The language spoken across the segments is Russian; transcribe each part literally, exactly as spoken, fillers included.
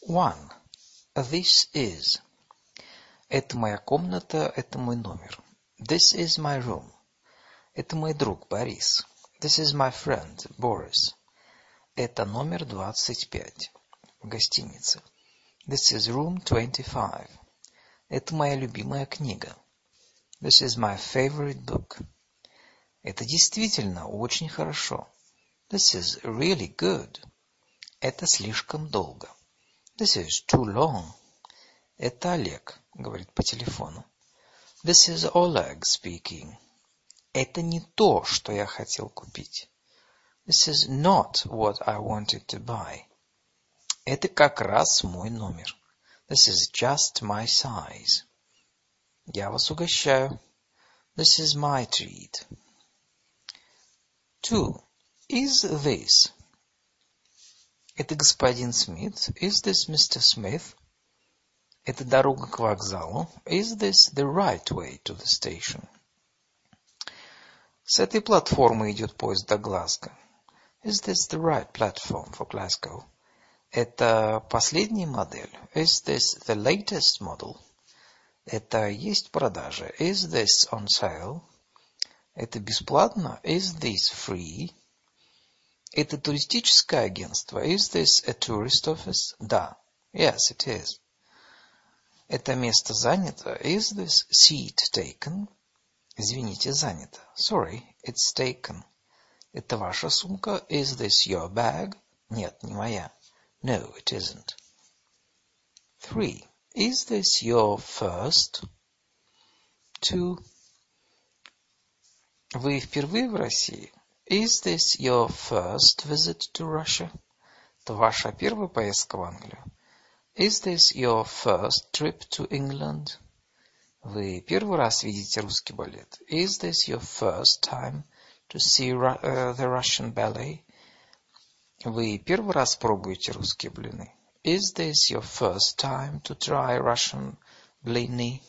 One. This is. Это моя комната, это мой номер. This is my room. Это мой друг Борис. This is my friend Boris. Это номер двадцать пять в гостинице. This is room twenty-five. Это моя любимая книга. This is my favorite book. Это действительно очень хорошо. This is really good. Это слишком долго. This is too long. Это Олег говорит по телефону. This is Oleg speaking. Это не то, что я хотел купить. This is not what I wanted to buy. Это как раз мой номер. This is just my size. Я вас угощаю. This is my treat. Two. Is this? Это господин Смит. Is this Mister Smith? Это дорога к вокзалу. Is this the right way to the station? С этой платформы идет поезд до Глазго. Is this the right platform for Glasgow? Это последняя модель. Is this the latest model? Это есть в продаже. Is this on sale? Это бесплатно. Is this free? Это туристическое агентство. Is this a tourist office? Да. Yes, it is. Это место занято. Is this seat taken? Извините, занято. Sorry, it's taken. Это ваша сумка. Is this your bag? Нет, не моя. No, it isn't. Three. Is this your first? Two. Вы впервые в России? Is this your first visit to Russia? Это ваша первая поездка в Англию? Is this your first trip to England? Вы первый раз видите русский балет? Is this your first time to see uh, the Russian ballet? Вы первый раз пробуете русские блины? Is this your first time to try Russian blini?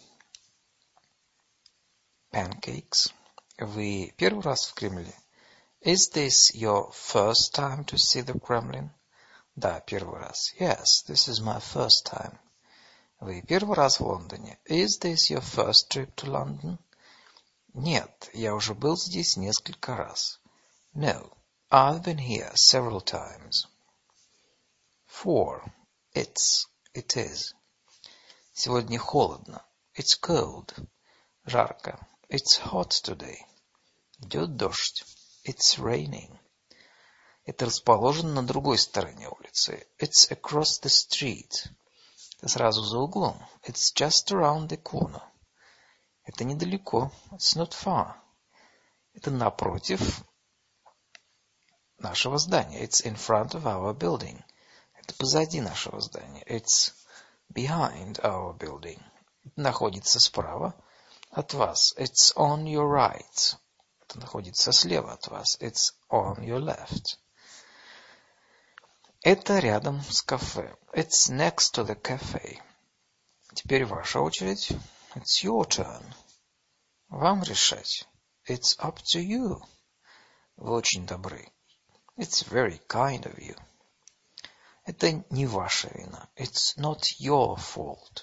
Pancakes. Вы первый раз в Кремле? Is this your first time to see the Kremlin? Да, первый раз. Yes, this is my first time. Вы первый раз в Лондоне? Is this your first trip to London? Нет, я уже был здесь несколько раз. No, I've been here several times. Four. It's. It is. Сегодня холодно. It's cold. Жарко. It's hot today. Идет дождь. It's raining. Это расположено на другой стороне улицы. It's across the street. Это сразу за углом. It's just around the corner. Это недалеко. It's not far. Это напротив нашего здания. It's in front of our building. Это позади нашего здания. It's behind our building. Это находится справа от вас. It's on your right. Это находится слева от вас. It's on your left. Это рядом с кафе. It's next to the cafe. Теперь ваша очередь. It's your turn. Вам решать. It's up to you. Вы очень добры. It's very kind of you. Это не ваша вина. It's not your fault.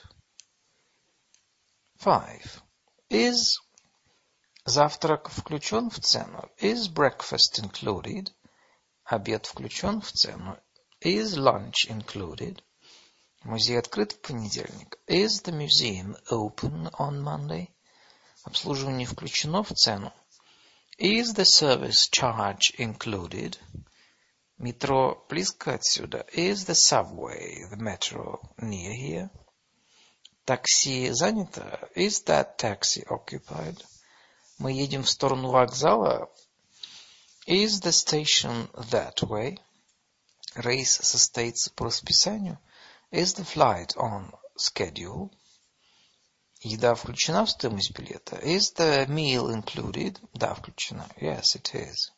Five. Is завтрак включен в цену? Is breakfast included? Обед включен в цену? Is lunch included? Музей открыт в понедельник. Is the museum open on Monday? Обслуживание включено в цену. Is the service charge included? Метро близко отсюда. Is the subway, the metro, near here? Такси занято. Is that taxi occupied? Мы едем в сторону вокзала. Is the station that way? Рейс состоится по расписанию. Is the flight on schedule? Еда включена в стоимость билета. Is the meal included? Да, включена. Yes, it is.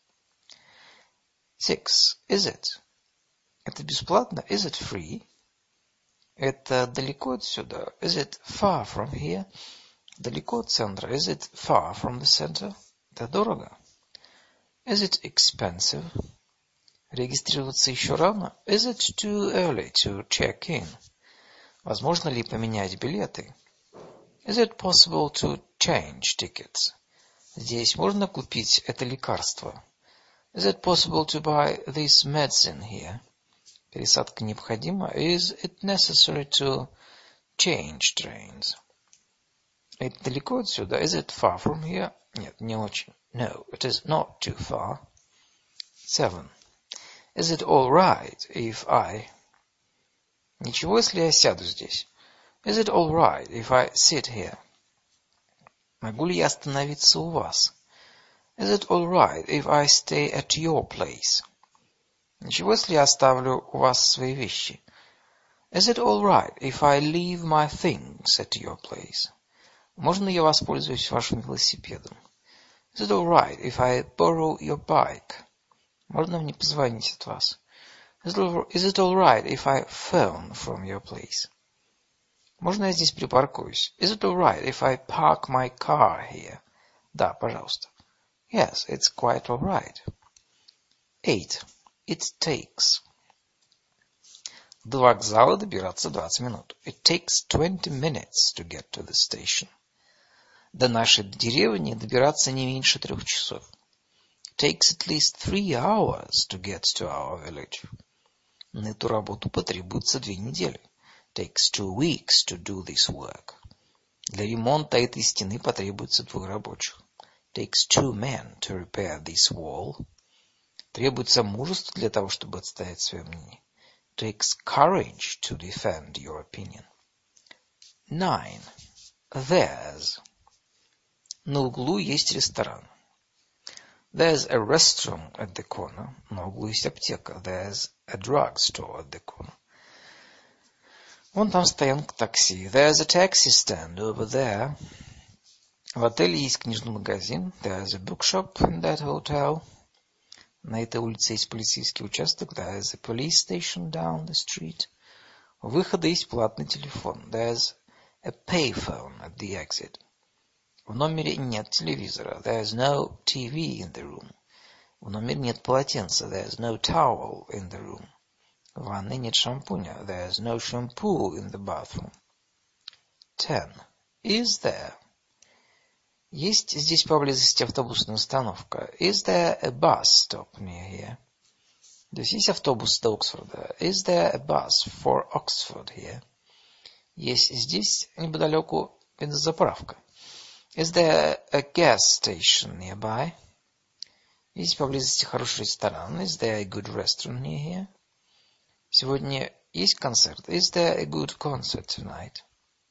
Six. Is it? Это бесплатно? Is it free? Это далеко отсюда? Is it far from here? Далеко от центра? Is it far from the center? Это дорого? Is it expensive? Регистрироваться еще рано? Is it too early to check in? Возможно ли поменять билеты? Is it possible to change tickets? Здесь можно купить это лекарство? Is it possible to buy this medicine here? Пересадка необходима? Is it necessary to change trains? Это далеко отсюда? Is it far from here? Нет, не очень. No, it is not too far. Seven. Is it all right if I... Ничего, если я сяду здесь? Is it all right if I sit here? Могу ли я остановиться у вас? Is it all right if I stay at your place? Ничего, если я оставлю у вас свои вещи? Is it all right if I leave my things at your place? Можно я воспользуюсь вашим велосипедом? Is it all right if I borrow your bike? Можно мне позвонить от вас? Is it all right if I phone from your place? Можно я здесь припаркуюсь? Is it all right if I park my car here? Да, пожалуйста. Yes, it's quite all right. Eight. It takes. До вокзала добираться двадцать минут. It takes twenty minutes to get to the station. До нашей деревни добираться не меньше трех часов. It takes at least three hours to get to our village. На эту работу потребуется две недели. It takes two weeks to do this work. Для ремонта этой стены потребуется двое рабочих. It takes two men to repair this wall. Требуется мужество для того, чтобы отстоять свое мнение. It takes courage to defend your opinion. Nine. There's. На углу есть ресторан. There's a restaurant at the corner. На углу есть аптека. There's a drugstore at the corner. Вон там стоянка такси. There's a taxi stand over there. В отеле есть книжный магазин. There's a bookshop in that hotel. На этой улице есть полицейский участок. There's a police station down the street. У выхода есть платный телефон. There's a payphone at the exit. В номере нет телевизора. There's no T V in the room. В номере нет полотенца. There's no towel in the room. В ванной нет шампуня. There's no shampoo in the bathroom. Ten. Is there? Есть здесь поблизости автобусная остановка. Is there a bus stop near here? Здесь есть автобус до Оксфорда. Is there a bus for Oxford here? Есть здесь неподалеку бензозаправка. Is there a gas station nearby? Есть поблизости хороший ресторан. Is there a good restaurant near here? Сегодня есть концерт. Is there a good concert tonight?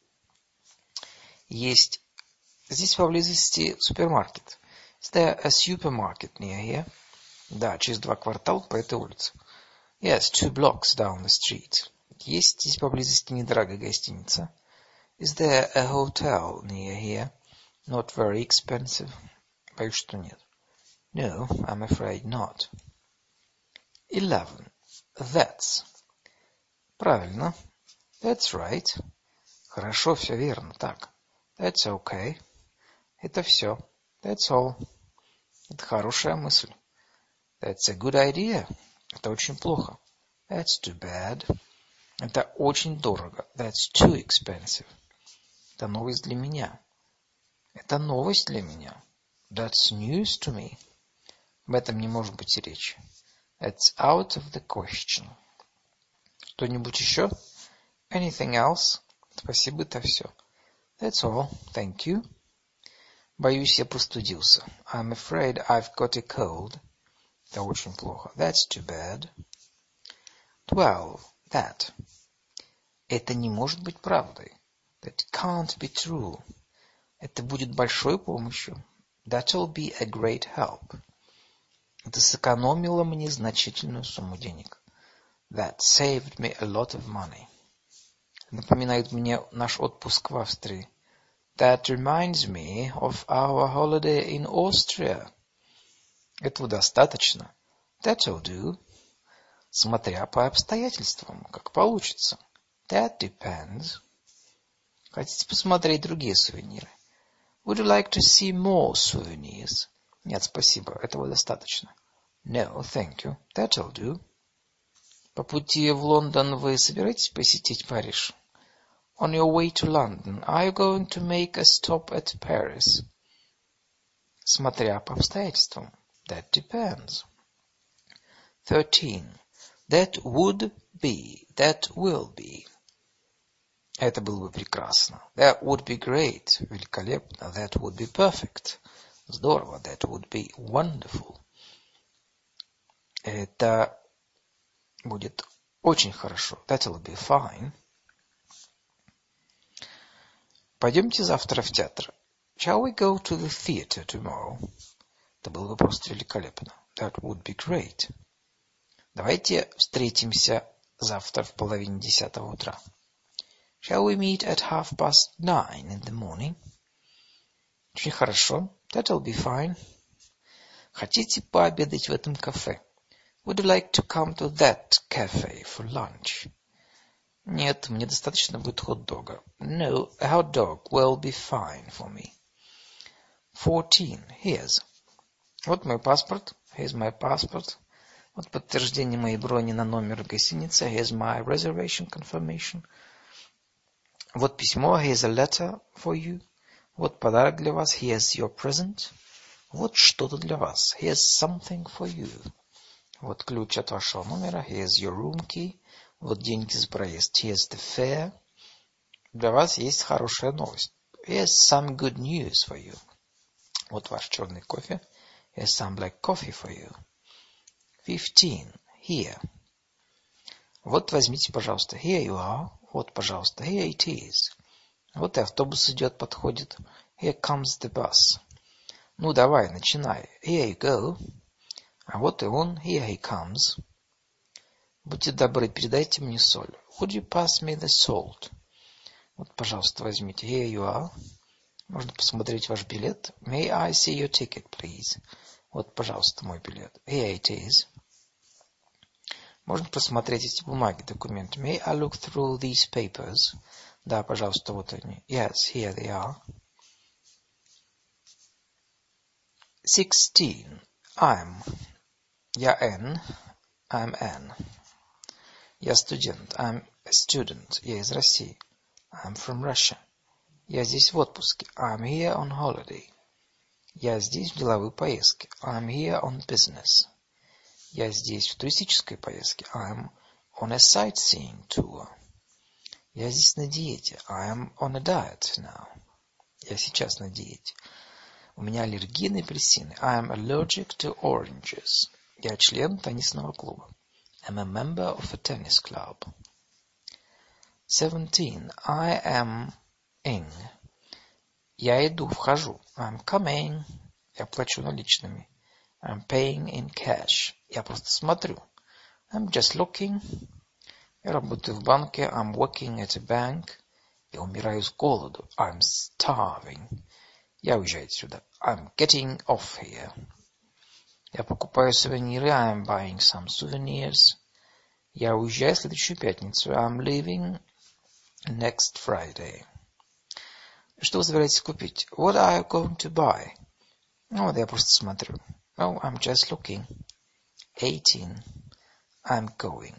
Есть здесь поблизости супермаркет. Is there a supermarket near here? Да, через два квартала по этой улице. Yes, two blocks down the street. Есть здесь поблизости недорогая гостиница. Is there a hotel near here? Not very expensive. Боюсь, что нет. No, I'm afraid not. Eleven. That's. Правильно. That's right. Хорошо, все верно. Так. That's okay. Это все. That's all. Это хорошая мысль. That's a good idea. Это очень плохо. That's too bad. Это очень дорого. That's too expensive. Это новость для меня. Это новость для меня. That's news to me. Об этом не может быть и речи. It's out of the question. Что-нибудь еще? Anything else? Спасибо, это все. That's all. Thank you. Боюсь, я простудился. I'm afraid I've got a cold. Это очень плохо. That's too bad. Twelve. That. Это не может быть правдой. That can't be true. Это будет большой помощью. That'll be a great help. Это сэкономило мне значительную сумму денег. That saved me a lot of money. Напоминает мне наш отпуск в Австрии. That reminds me of our holiday in Austria. Этого достаточно. That'll do. Смотря по обстоятельствам, как получится. That depends. Хотите посмотреть другие сувениры? Would you like to see more souvenirs? Нет, спасибо, этого достаточно. No, thank you. That'll do. По пути в Лондон вы собираетесь посетить Париж? On your way to London, are you going to make a stop at Paris? Смотря по обстоятельствам. That depends. Thirteen. That would be. That will be. Это было бы прекрасно. That would be great. Великолепно. That would be perfect. Здорово. That would be wonderful. Это будет очень хорошо. That'll be fine. Пойдемте завтра в театр. Shall we go to the theater tomorrow? Это было бы просто великолепно. That would be great. Давайте встретимся завтра в половине десятого утра. Shall we meet at half past nine in the morning? Очень хорошо. That'll be fine. Хотите пообедать в этом кафе? Would you like to come to that cafe for lunch? Нет, мне достаточно будет хот-дога. No, a hot dog will be fine for me. Fourteen. Here's. Вот мой паспорт. Here's my passport. Вот подтверждение моей брони на номер гостиницы. Here's my reservation confirmation. Вот письмо. Here's a letter for you. Вот подарок для вас. Here's your present. Вот что-то для вас. Here's something for you. Вот ключ от вашего номера. Here's your room key. Вот деньги за проезд. Here's the fare. Для вас есть хорошая новость. Here's some good news for you. Вот ваш черный кофе. Here's some black coffee for you. Fifteen. Here. Вот возьмите, пожалуйста. Here you are. Вот, пожалуйста. Here it is. Вот и автобус идет, подходит. Here comes the bus. Ну, давай, начинай. Here you go. А вот и он. Here he comes. Будьте добры, передайте мне соль. Would you pass me the salt? Вот, пожалуйста, возьмите. Here you are. Можно посмотреть ваш билет. May I see your ticket, please? Вот, пожалуйста, мой билет. Here it is. Можно просмотреть эти бумаги, документы. May I look through these papers? Да, пожалуйста, вот они. Yes, here they are. Sixteen. I'm. Я N. I'm N. Я студент. I'm a student. Я из России. I'm from Russia. Я здесь в отпуске. I'm here on holiday. Я здесь в деловой поездке. I'm here on business. Я здесь в туристической поездке. I'm on a sightseeing tour. Я здесь на диете. I'm on a diet now. Я сейчас на диете. У меня аллергия на апельсины. I'm allergic to oranges. Я член теннисного клуба. I'm a member of a tennis club. Seventeen. I am in. Я иду, вхожу. I'm coming. Я плачу наличными. I'm paying in cash. Я просто смотрю. I'm just looking. Я работаю в банке. I'm working at a bank. Я умираю с голоду. I'm starving. Я уезжаю отсюда. I'm getting off here. Я покупаю сувениры. I'm buying some souvenirs. Я уезжаю в следующую пятницу. I'm leaving next Friday. Что вы собираетесь купить? What are you going to buy? Ну, вот я просто смотрю. Oh, I'm just looking. Eighteen. I'm going.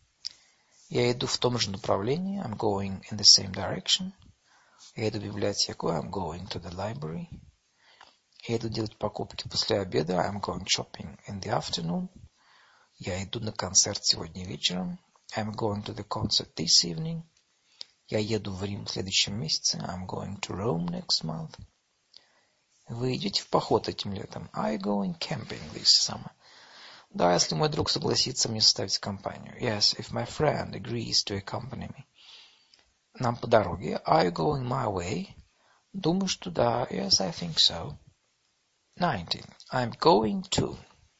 Я иду в том же направлении. I'm going in the same direction. Я иду в библиотеку. I'm going to the library. Я иду делать покупки после обеда. I'm going shopping in the afternoon. Я иду на концерт сегодня вечером. I'm going to the concert this evening. Я еду в Рим в следующем месяце. I'm going to Rome next month. Вы идете в поход этим летом? Are you going camping this summer? Да, если мой друг согласится мне составить компанию. Yes, if my friend agrees to accompany me. Нам по дороге. Are you going my way? Думаю, что да. Yes, I think so. Nineteen. I'm going to.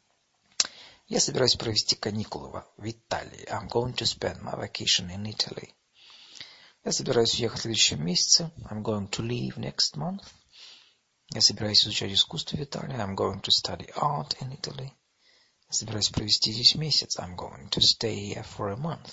Я собираюсь провести каникулы в Италии. I'm going to spend my vacation in Italy. Я собираюсь уехать в следующем месяце. I'm going to leave next month. Я собираюсь изучать искусство в Италии. I'm going to study art in Italy. Я собираюсь провести здесь месяц. I'm going to stay here for a month.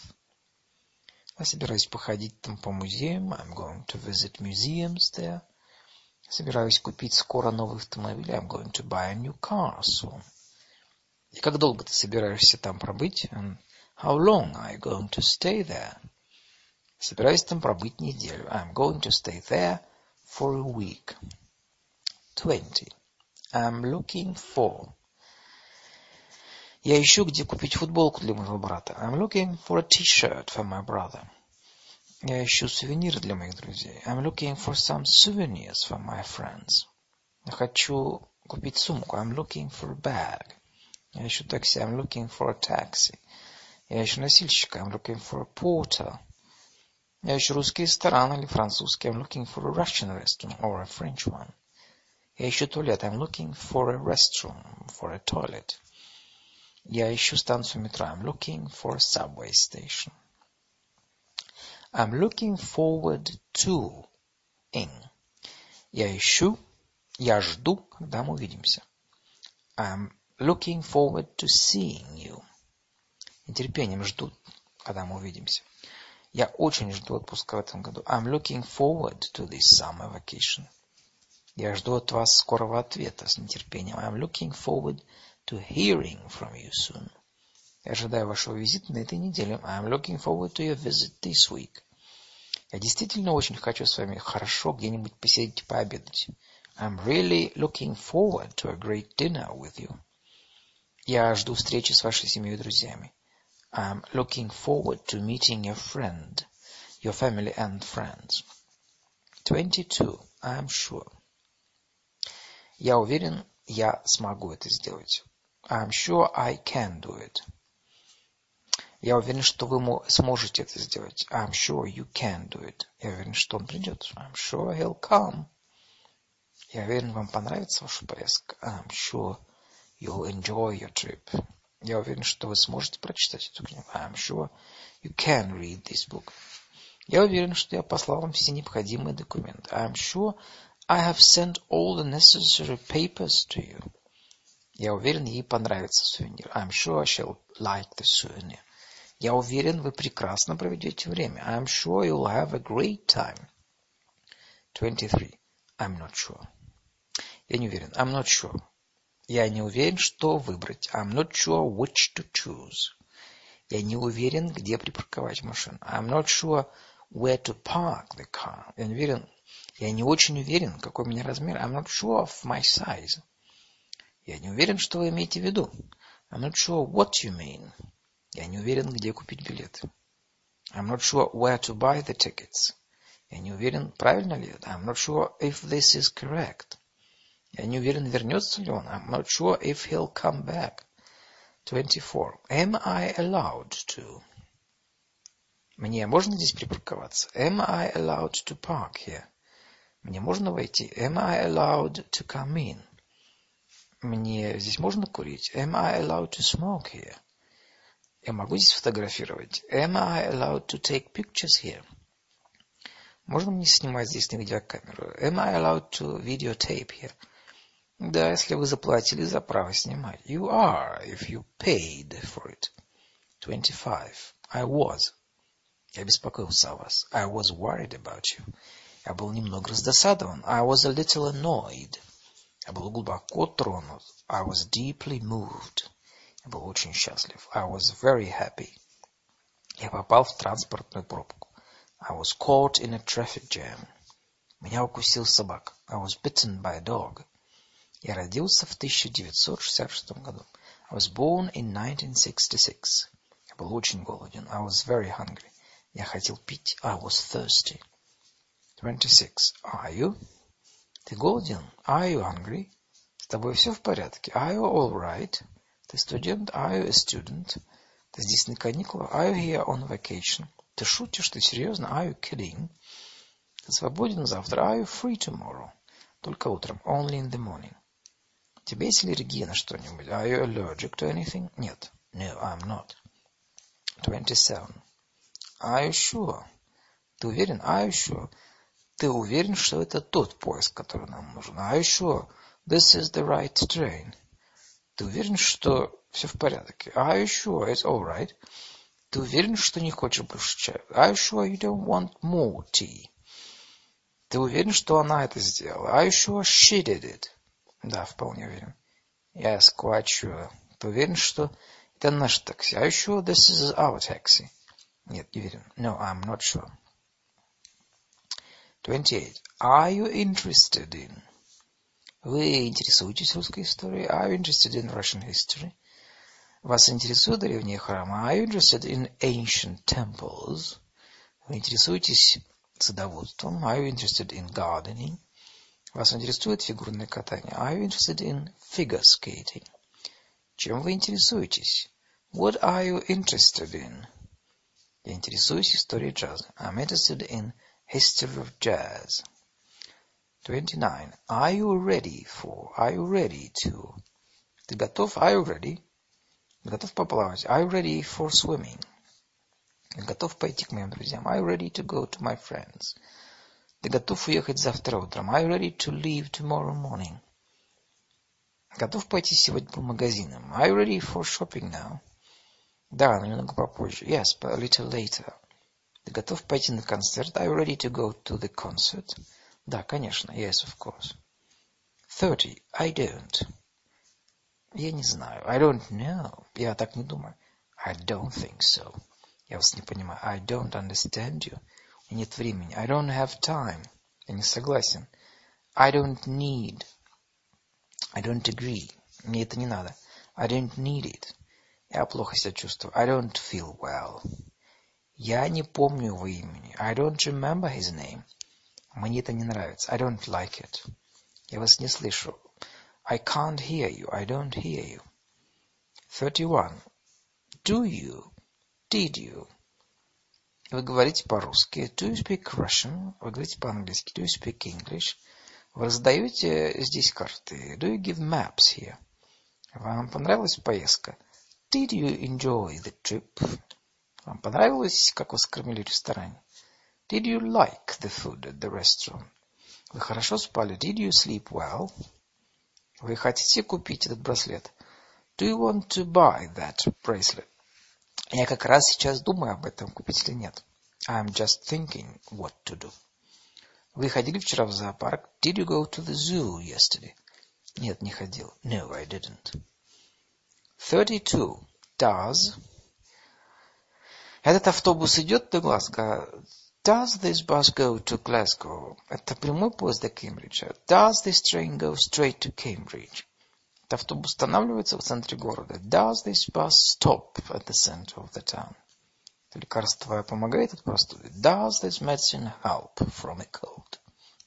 Я собираюсь походить там по музеям. I'm going to visit museums there. Я собираюсь купить скоро новый автомобиль. I'm going to buy a new car soon. И как долго ты собираешься там пробыть? And how long are you going to stay there? Собираюсь там пробыть неделю. I'm going to stay there for a week. twenty. I'm looking for. Я ищу, где купить футболку для моего брата. I'm looking for a t-shirt for my brother. Я ищу сувениры для моих друзей. I'm looking for some souvenirs for my friends. Я хочу купить сумку. I'm looking for a bag. Я ищу такси. I'm looking for a taxi. Я ищу носильщика. I'm looking for a porter. Я ищу русский ресторан или французский. I'm looking for a Russian restaurant or a French one. Я ищу туалет. I'm looking for a restroom, for a toilet. Я ищу станцию метро. I'm looking for a subway station. I'm looking forward to. In. Я ищу, я жду, когда мы увидимся. I'm looking forward to seeing you. Нетерпением жду, когда мы увидимся. Я очень жду отпуска в этом году. I'm looking forward to this summer vacation. Я жду от вас скорого ответа с нетерпением. I'm looking forward to hearing from you soon. Я ожидаю вашего визита на этой неделе. I'm looking forward to your visit this week. Я действительно очень хочу с вами хорошо где-нибудь посидеть и пообедать. I'm really looking forward to a great dinner with you. Я жду встречи с вашей семьей и друзьями. I'm looking forward to meeting your friend, your family and friends. twenty-two. I'm sure. Я уверен, я смогу это сделать. I'm sure I can do it. Я уверен, что вы сможете это сделать. I'm sure you can do it. Я уверен, что он придет. I'm sure he'll come. Я уверен, вам понравится ваша поездка. I'm sure you'll enjoy your trip. Я уверен, что вы сможете прочитать эту книгу. I'm sure you can read this book. Я уверен, что я послал вам все необходимые документы. I'm sure I have sent all the necessary papers to you. Я уверен, ей понравится сувенир. I'm sure she'll like the souvenir. Я уверен, вы прекрасно проведете время. I'm sure you'll have a great time. twenty-three. I'm not sure. Я не уверен. I'm not sure. Я не уверен, что выбрать. I'm not sure which to choose. Я не уверен, где припарковать машину. I'm not sure where to park the car. Я не уверен. Я не очень уверен, какой у меня размер. I'm not sure of my size. Я не уверен, что вы имеете в виду. I'm not sure what you mean. Я не уверен, где купить билеты. I'm not sure where to buy the tickets. Я не уверен, правильно ли это. I'm not sure if this is correct. Я не уверен, вернется ли он. I'm not sure if he'll come back. twenty-four. Am I allowed to? Мне можно здесь припарковаться? Am I allowed to park here? Мне можно войти? Am I allowed to come in? Мне здесь можно курить? Am I allowed to smoke here? Я могу здесь фотографировать? Am I allowed to take pictures here? Можно мне снимать здесь на видеокамеру? Am I allowed to videotape here? Да, если вы заплатили за право снимать. You are, if you paid for it. twenty-five. I was. Я беспокоился о вас. I was worried about you. Я был немного раздосадован. I was a little annoyed. Я был глубоко тронут. I was deeply moved. Я был очень счастлив. I was very happy. Я попал в транспортную пробку. I was caught in a traffic jam. Меня укусил собака. I was bitten by a dog. Я родился в тысяча девятьсот шестьдесят шестом году. I was born in nineteen sixty-six. Я был очень голоден. I was very hungry. Я хотел пить. I was thirsty. twenty-six. Are you? Ты голоден? Are you hungry? С тобой все в порядке? Are you all right? Ты студент? Are you a student? Ты здесь на каникулах? Are you here on vacation? Ты шутишь? Ты серьезно? Are you kidding? Ты свободен завтра? Are you free tomorrow? Только утром. Only in the morning. У тебя есть аллергия на что-нибудь? Are you allergic to anything? Нет. No, I'm not. twenty-seven. Are you sure? Ты уверен? Are you sure? Ты уверен, что это тот поезд, который нам нужен? Are you sure this is the right train? Ты уверен, что все в порядке? Are you sure it's all right? Ты уверен, что не хочешь больше чая? Are you sure you don't want more tea? Ты уверен, что она это сделала? Are you sure she did it? Да, вполне уверен. Yes, quite sure. Ты уверен, что это наш такси? Are you sure this is our taxi? Нет, не уверен. No, I'm not sure. twenty-eight. Are you interested in? Вы интересуетесь русской историей? Are you interested in Russian history? Вас интересуют древние храмы? Are you interested in ancient temples? Вы интересуетесь садоводством? Are you interested in gardening? Вас интересует фигурное катание? Are you interested in figure skating? Чем вы интересуетесь? What are you interested in? Я интересуюсь историей джаза. I'm interested in history of jazz. twenty-nine. Are you ready for? Are you ready to? Ты готов? Are you ready? Готов поплавать? Are you ready for swimming? Готов пойти к моим друзьям? Are you ready to go to my friends? Ты готов уехать завтра утром? Are you ready to leave tomorrow morning? Готов пойти сегодня по магазинам? Are you ready for shopping now? Да, но немного попозже. Yes, but a little later. Ты готов пойти на концерт? Are you ready to go to the concert? Да, конечно. Yes, of course. thirty. I don't. Я не знаю. I don't know. Я так не думаю. I don't think so. Я вас не понимаю. I don't understand you. У меня нет времени. I don't have time. Я не согласен. I don't need. I don't agree. Мне это не надо. I don't need it. Я плохо себя чувствую. I don't feel well. Я не помню его имени. I don't remember his name. Мне это не нравится. I don't like it. Я вас не слышу. I can't hear you. I don't hear you. thirty-one. Do you? Did you? Вы говорите по-русски. Do you speak Russian? Вы говорите по-английски. Do you speak English? Вы раздаете здесь карты. Do you give maps here? Вам понравилась поездка? Did you enjoy the trip? Вам понравилось, как вас кормили в ресторане? Did you like the food at the restaurant? Вы хорошо спали? Did you sleep well? Вы хотите купить этот браслет? Do you want to buy that bracelet? Я как раз сейчас думаю об этом, купить или нет. I'm just thinking what to do. Вы ходили вчера в зоопарк? Did you go to the zoo yesterday? Нет, не ходил. No, I didn't. thirty-two. Does. Этот автобус идет до Глазго? Does this bus go to Glasgow? Это прямой поезд до Кембриджа. Does this train go straight to Cambridge? Этот автобус останавливается в центре города. Does this bus stop at the center of the town? Это лекарство помогает от простуды? Does this medicine help from a cold?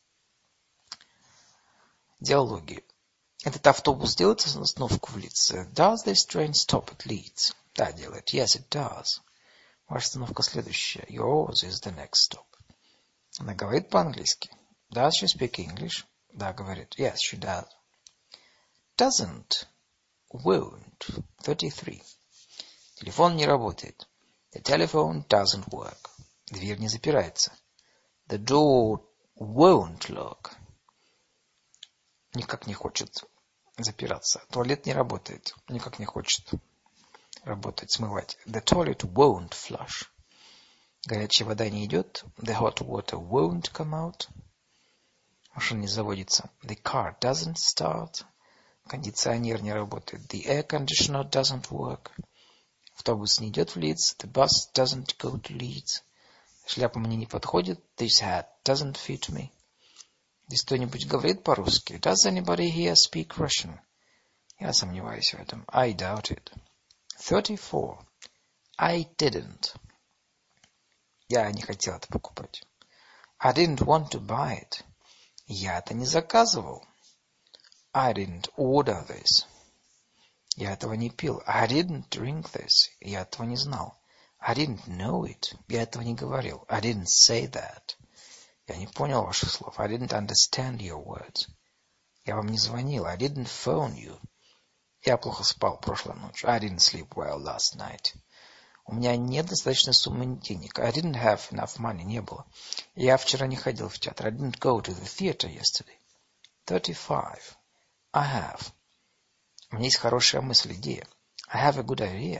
Диалоги. Этот автобус делает остановку в Лидсе? Does this train stop at Leeds? Да, делает. Yes, it does. Ваша остановка следующая. Yours is the next stop. Она говорит по-английски. Does she speak English? Да, говорит. Yes, she does. Doesn't. Won't. thirty-three. Телефон не работает. The telephone doesn't work. Дверь не запирается. The door won't lock. Никак не хочет запираться. Туалет не работает. Никак не хочет работать, смывать. The toilet won't flush. Горячая вода не идет. The hot water won't come out. Машина не заводится. The car doesn't start. Кондиционер не работает. The air conditioner doesn't work. Автобус не идет в Лидс. The bus doesn't go to Leeds. Шляпа мне не подходит. This hat doesn't fit me. Здесь кто-нибудь говорит по-русски? Does anybody here speak Russian? Я сомневаюсь в этом. I doubt it. thirty-four. I didn't. Я не хотел это покупать. I didn't want to buy it. Я это не заказывал. I didn't order this. Я этого не пил. I didn't drink this. Я этого не знал. I didn't know it. Я этого не говорил. I didn't say that. Я не понял ваших слов. I didn't understand your words. Я вам не звонил. I didn't phone you. Я плохо спал прошлой ночью. I didn't sleep well last night. У меня нет достаточной суммы денег. I didn't have enough money. Не было. Я вчера не ходил в театр. I didn't go to the theater yesterday. thirty-five. I have. У меня есть хорошая мысль, идея. I have a good idea.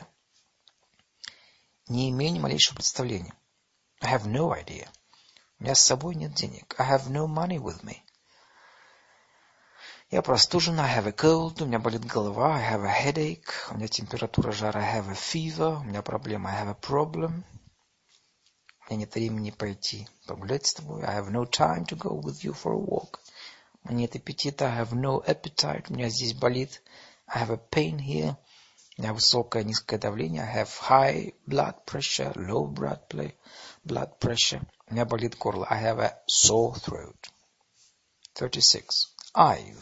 Не имею ни малейшего представления. I have no idea. У меня с собой нет денег. I have no money with me. Я простужен, I have a cold, у меня болит голова, I have a headache, у меня температура жара, I have a fever, у меня проблема, I have a problem. У меня нет времени пойти погулять с тобой, I have no time to go with you for a walk. У меня нет аппетита, I have no appetite, у меня здесь болит, I have a pain here. У меня высокое, низкое давление, I have high blood pressure, low blood, play, blood pressure. У меня болит горло, I have a sore throat. thirty-six. I've.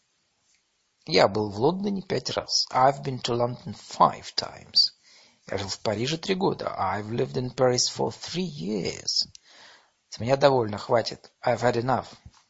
Я был в Лондоне пять раз. I've been to London five times. Я жил в Париже три года. I've lived in Paris for three years. С меня довольно, хватит. I've had enough.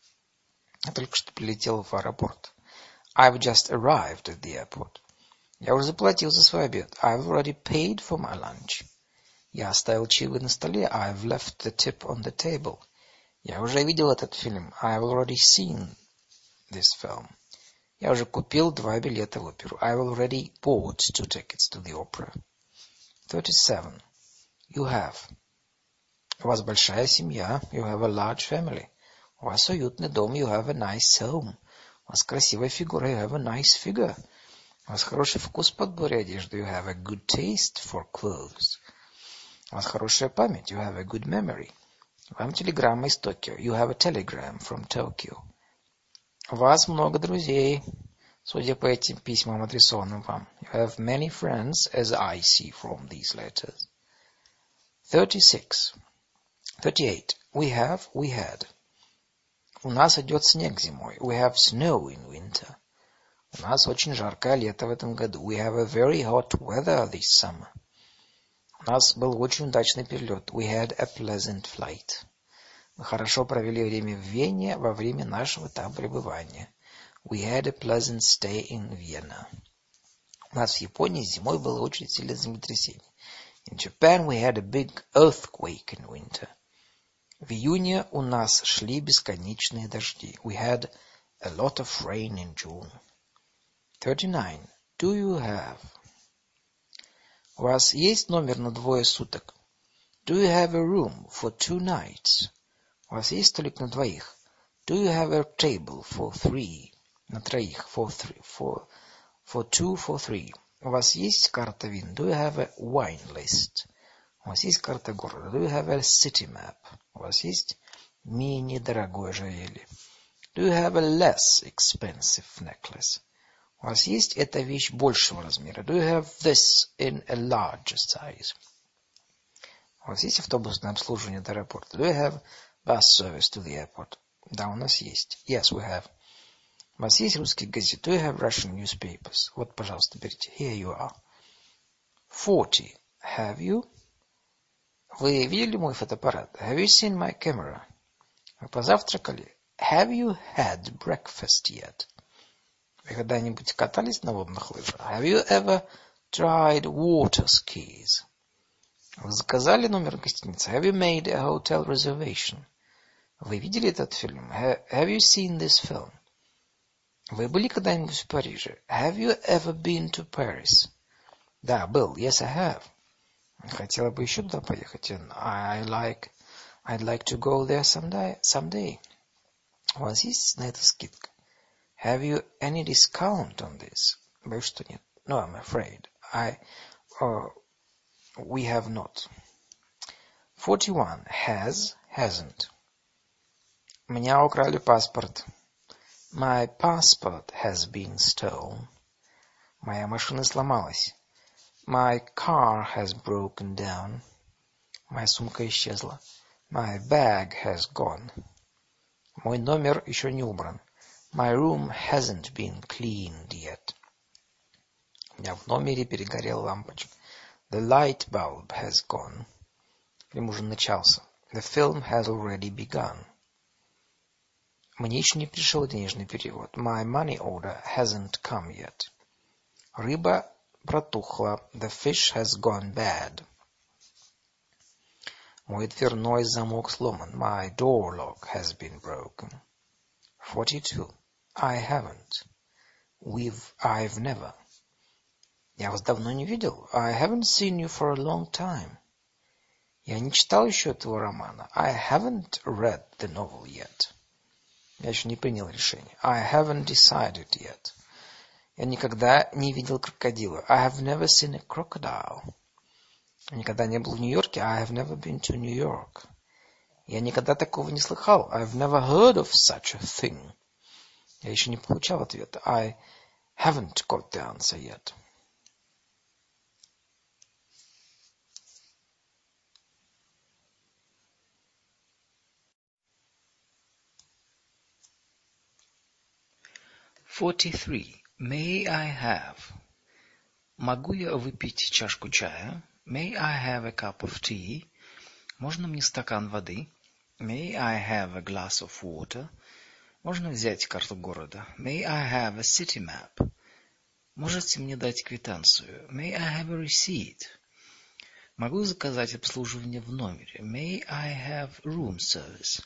Я только что прилетел в аэропорт. I've just arrived at the airport. Я уже заплатил за свой обед. I've already paid for my lunch. Я оставил чаевые на столе. I've left the tip on the table. Я уже видел этот фильм. I've already seen this film. Я уже купил два билета в оперу. I've already bought two tickets to the opera. thirty-seven. You have. У вас большая семья. You have a large family. У вас уютный дом. You have a nice home. У вас красивая фигура. You have a nice figure. У вас хороший вкус в подборе одежды. You have a good taste for clothes. У вас хорошая память. You have a good memory. Вам телеграмма из Токио. You have a telegram from Tokyo. У вас много друзей, судя по этим письмам, адресованным вам. You have many friends, as I see from these letters. thirty-six. thirty-eight. We have, we had. У нас идет снег зимой. We have snow in winter. У нас очень жаркое лето в этом году. We have a very hot weather this summer. У нас был очень удачный перелет. We had a pleasant flight. Мы хорошо провели время в Вене во время нашего там пребывания. We had a pleasant stay in Vienna. У нас в Японии зимой было очень сильное землетрясение. In Japan we had a big earthquake in winter. В июне у нас шли бесконечные дожди. We had a lot of rain in June. thirty-nine. Do you have? У вас есть номер на двое суток? Do you have a room for two nights? У вас есть столик на двоих? Do you have a table for three? На троих. For three. For, for two, for three. У вас есть карта вин? Do you have a wine list? У вас есть карта города? Do you have a city map? У вас есть менее дорогое ожерелье? Do you have a less expensive necklace? У вас есть эта вещь большего размера? Do you have this in a larger size? У вас есть автобусное обслуживание до аэропорта? Do you have bus service to the airport? Да, у нас есть. Yes, we have. У вас есть русские газеты? Do you have Russian newspapers? Вот, пожалуйста, берите. Here you are. forty. Have you? Вы видели мой фотоаппарат? Have you seen my camera? Вы позавтракали? Have you had breakfast yet? Вы когда-нибудь катались на водных лыжах? Have you ever tried water skis? Вы заказали номер гостиницы? Have you made a hotel reservation? Вы видели этот фильм? Have you seen this film? Вы были когда-нибудь в Париже? Have you ever been to Paris? Да, был. Yes, I have. Хотела бы еще туда поехать. And I like, I'd like to go there someday. someday. У вас есть на это скидка? Have you any discount on this? Боюсь, что нет. No, I'm afraid. I, uh, we have not. forty-one. Has, hasn't. У меня украли паспорт. My passport has been stolen. Моя машина сломалась. My car has broken down. Моя сумка исчезла. My bag has gone. Мой номер еще не убран. My room hasn't been cleaned yet. У меня в номере перегорела лампочка. The light bulb has gone. Фильм уже начался. The film has already begun. Мне еще не пришел денежный перевод. My money order hasn't come yet. Рыба протухла. The fish has gone bad. Мой дверной замок сломан. My door lock has been broken. forty-two. I haven't. We've, I've never. Я вас давно не видел. I haven't seen you for a long time. Я не читал еще этого романа. I haven't read the novel yet. Я еще не принял решение. I haven't decided yet. Я никогда не видел крокодила. I have never seen a crocodile. Я никогда не был в Нью-Йорке. I have never been to New York. Я никогда такого не слыхал. I've never heard of such a thing. Я еще не получал ответа. I haven't got the answer yet. forty-three. May I have? Могу я выпить чашку чая? May I have a cup of tea? Можно мне стакан воды? May I have a glass of water? Можно взять карту города? May I have a city map? Можете мне дать квитанцию? May I have a receipt? Могу заказать обслуживание в номере? May I have room service?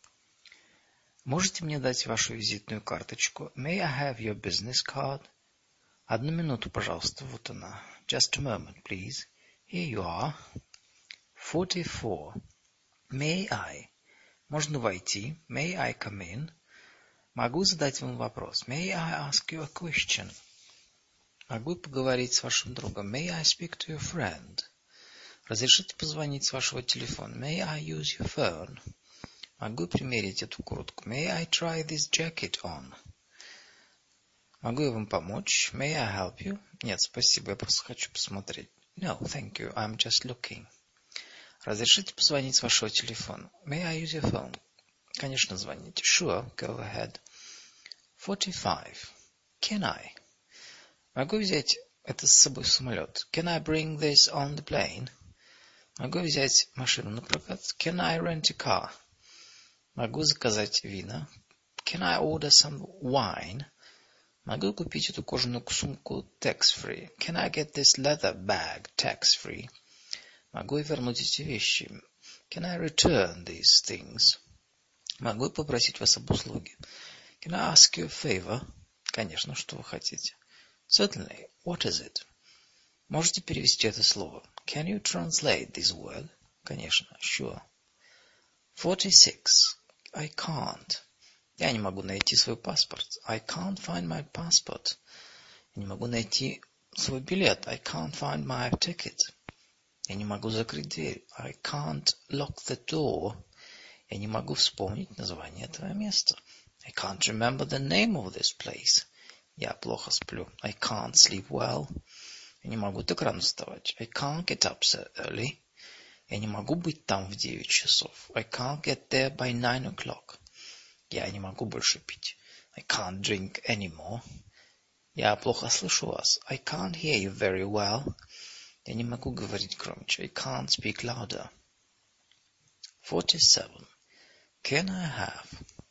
Можете мне дать вашу визитную карточку? May I have your business card? Одну минуту, пожалуйста, вот она. Just a moment, please. Here you are. forty-four. May I? Можно войти? May I come in? Могу задать вам вопрос? May I ask you a question? Могу поговорить с вашим другом? May I speak to your friend? Разрешите позвонить с вашего телефона? May I use your phone? Могу примерить эту куртку? May I try this jacket on? Могу я вам помочь? May I help you? Нет, спасибо, я просто хочу посмотреть. No, thank you, I'm just looking. Разрешите позвонить с вашего телефона? May I use your phone? Конечно, звоните. Sure, go ahead. forty-five. Can I? Могу взять это с собой в самолет? Can I bring this on the plane? Могу взять машину на прокат? Can I rent a car? Могу заказать вина? Can I order some wine? Могу купить эту кожаную сумку tax-free? Can I get this leather bag tax-free? Могу я вернуть эти вещи? Can I return these things? Могу я попросить вас об услуге? Can I ask you a favor? Конечно, что вы хотите. Certainly. What is it? Можете перевести это слово? Can you translate this word? Конечно. Sure. forty-six. I can't. Я не могу найти свой паспорт. I can't find my passport. Я не могу найти свой билет. I can't find my ticket. Я не могу закрыть дверь. I can't lock the door. Я не могу вспомнить название этого места. I can't remember the name of this place. Я плохо сплю. I can't sleep well. Я не могу так рано вставать. I can't get up so early. Я не могу быть там в девять часов. I can't get there by nine o'clock. Я не могу больше пить. I can't drink anymore. Я плохо слышу вас. I can't hear you very well. Я не могу говорить громче. I can't speak louder. forty-seven. Can I have?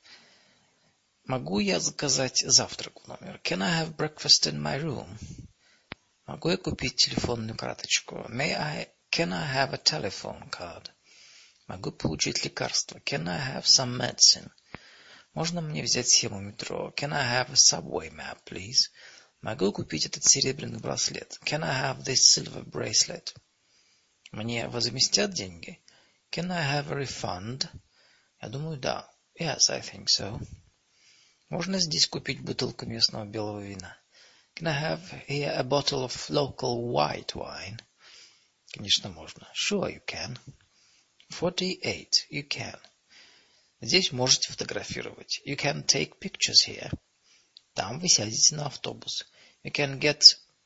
Могу я заказать завтрак в номер? Can I have breakfast in my room? Могу я купить телефонную карточку? May I, can I have a telephone card? Могу получить лекарство? Can I have some medicine? Можно мне взять схему метро? Can I have a subway map, please? Могу купить этот серебряный браслет? Can I have this silver bracelet? Мне возместят деньги? Can I have a refund? Я думаю, да. Yes, I think so. Можно здесь купить бутылку местного белого вина? Can I have here a bottle of local white wine? Конечно, можно. Sure, you can. forty-eight. You can. Здесь можете фотографировать. You can take pictures here. Там вы сядете на автобус. You can get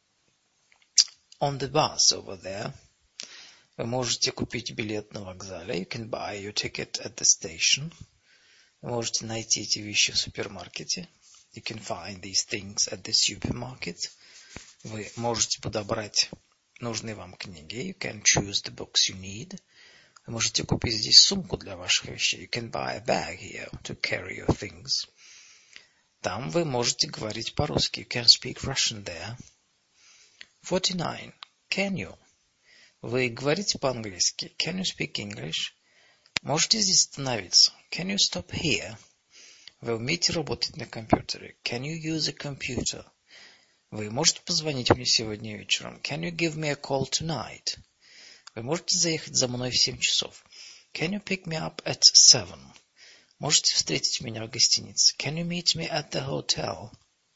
on the bus over there. Вы можете купить билет на вокзале. You can buy your ticket at the station. Вы можете найти эти вещи в супермаркете. You can find these things at the supermarket. Вы можете подобрать нужные вам книги. You can choose the books you need. Вы можете купить здесь сумку для ваших вещей. You can buy a bag here to carry your things. Там вы можете говорить по-русски. You can speak Russian there. forty-nine. Can you? Вы говорите по-английски. Can you speak English? Можете здесь остановиться. Can you stop here? Вы умеете работать на компьютере? Can you use a computer? Вы можете позвонить мне сегодня вечером? Can you give me a call tonight? Вы можете заехать за мной в семь часов? Can you pick me up at seven? Можете встретить меня в гостинице? Can you meet me at the hotel?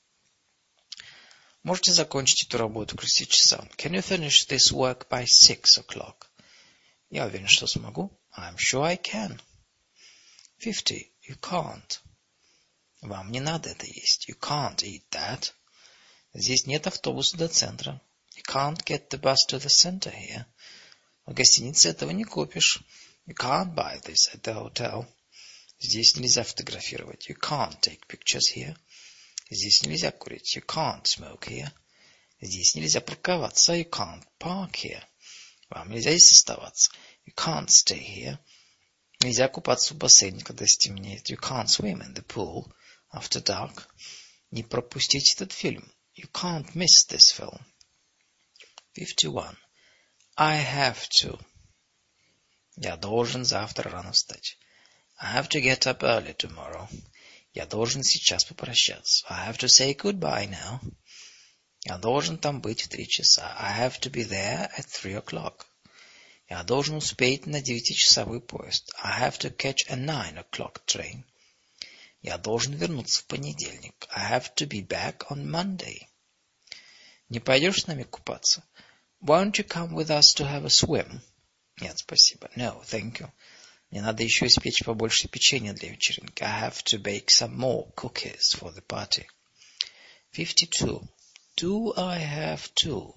Можете закончить эту работу к шести часам? Can you finish this work by six o'clock? Я уверен, что смогу. I'm sure I can. Fifty. You can't. Вам не надо это есть. You can't eat that. Здесь нет автобуса до центра. You can't get the bus to the center here. В гостинице этого не купишь. You can't buy this at the hotel. Здесь нельзя фотографировать. You can't take pictures here. Здесь нельзя курить. You can't smoke here. Здесь нельзя парковаться. You can't park here. Вам нельзя здесь оставаться. You can't stay here. Нельзя купаться в бассейне, когда стемнеет. You can't swim in the pool after dark. Не пропустите этот фильм. You can't miss this film. Fifty-one. I have to. Я должен завтра рано встать. I have to get up early tomorrow. Я должен сейчас попрощаться. I have to say goodbye now. Я должен там быть в три часа. I have to be there at three o'clock. Я должен успеть на девятичасовой поезд. I have to catch a nine o'clock train. Я должен вернуться в понедельник. I have to be back on Monday. Не пойдешь с нами купаться? Won't you come with us to have a swim? Нет, спасибо. No, thank you. Мне надо еще испечь побольше печенья для вечеринки. I have to bake some more cookies for the party. Fifty-two. Do I have to?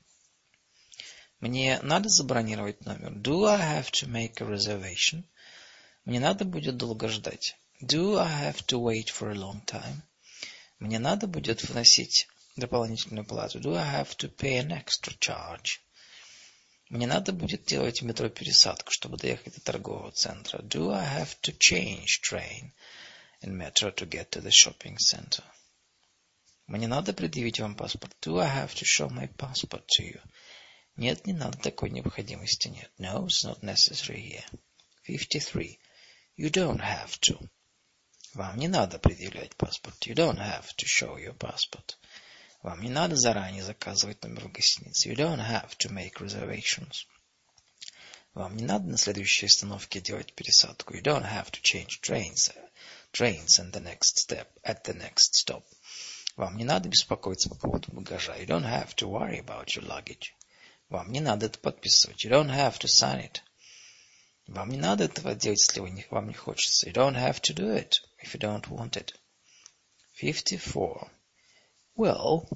Мне надо забронировать номер. Do I have to make a reservation? Мне надо будет долго ждать. Do I have to wait for a long time? Мне надо будет вносить дополнительную плату. Do I have to pay an extra charge? Мне надо будет делать в метро пересадку, чтобы доехать до торгового центра. Do I have to change train in metro to get to the shopping center? Мне надо предъявить вам паспорт. Do I have to show my passport to you? Нет, не надо, такой необходимости нет. No, it's not necessary here. Fifty-three. You don't have to. Вам не надо предъявлять паспорт. You don't have to show your passport. Вам не надо заранее заказывать номер в гостинице. You don't have to make reservations. Вам не надо на следующей остановке делать пересадку. You don't have to change trains, trains and the next step, at the next stop. Вам не надо беспокоиться по поводу багажа. You don't have to worry about your luggage. Вам не надо это подписывать. You don't have to sign it. Вам не надо этого делать, если вы не, вам не хочется. You don't have to do it if you don't want it. Fifty-four. Well,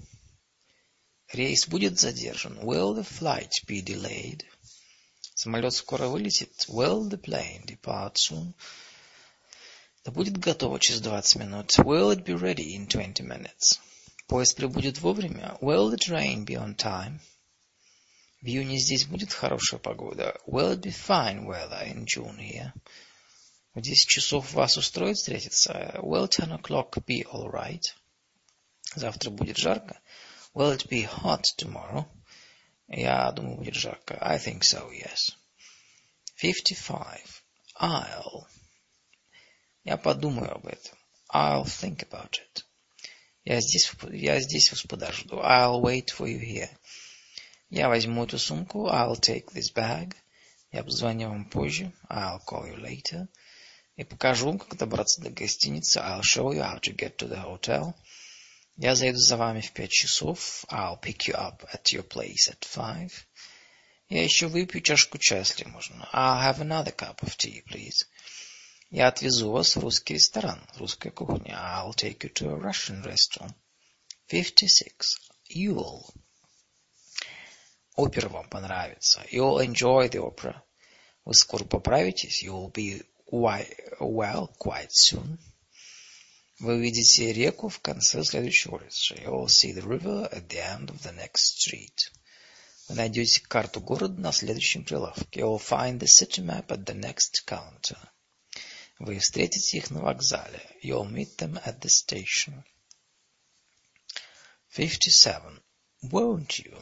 рейс будет задержан. Will the flight be delayed? Самолет скоро вылетит. Will the plane depart soon? Да будет готово через двадцать минут. Will it be ready in twenty minutes? Поезд прибудет вовремя. Will the train be on time? В июне здесь будет хорошая погода. Will it be fine weather in June here? В десять часов вас устроит встретиться? Will ten o'clock be all right? Завтра будет жарко. Will it be hot tomorrow? Я думаю, будет жарко. I think so, yes. Fifty-five. I'll. Я подумаю об этом. I'll think about it. Я здесь, я здесь вас подожду. I'll wait for you here. Я возьму эту сумку. I'll take this bag. Я позвоню вам позже. I'll call you later. Я покажу вам, как добраться до гостиницы. I'll show you how to get to the hotel. Я заеду за вами в пять часов. I'll pick you up at your place at five. Я еще выпью чашку чая, если можно. I'll have another cup of tea, please. Я отвезу вас в русский ресторан, русская кухня. I'll take you to a Russian restaurant. Fifty-six. You'll. Опера вам понравится. You'll enjoy the opera. Вы скоро поправитесь. You'll be well quite soon. Вы увидите реку в конце следующей улицы. You'll see the river at the end of the next street. Вы найдете карту города на следующем прилавке. You'll find the city map at the next counter. Вы встретите их на вокзале. You'll meet them at the station. Fifty-seven. Won't you?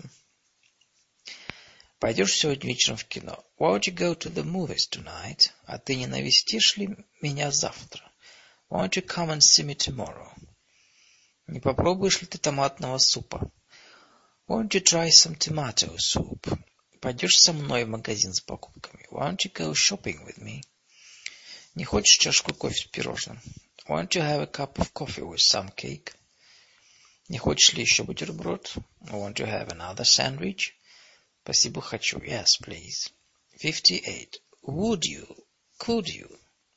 Пойдешь сегодня вечером в кино? Won't you go to the movies tonight? А ты не навестишь ли меня завтра? Won't you come and see me tomorrow? Не попробуешь ли ты томатного супа? Won't you try some tomato soup? Пойдешь со мной в магазин с покупками? Won't you go shopping with me? Не хочешь чашку кофе с пирожным? Want to have a cup of coffee with some cake? Не хочешь ли еще бутерброд? Want to have another sandwich? Спасибо, хочу. Yes, please. fifty-eight. Would you? Could you?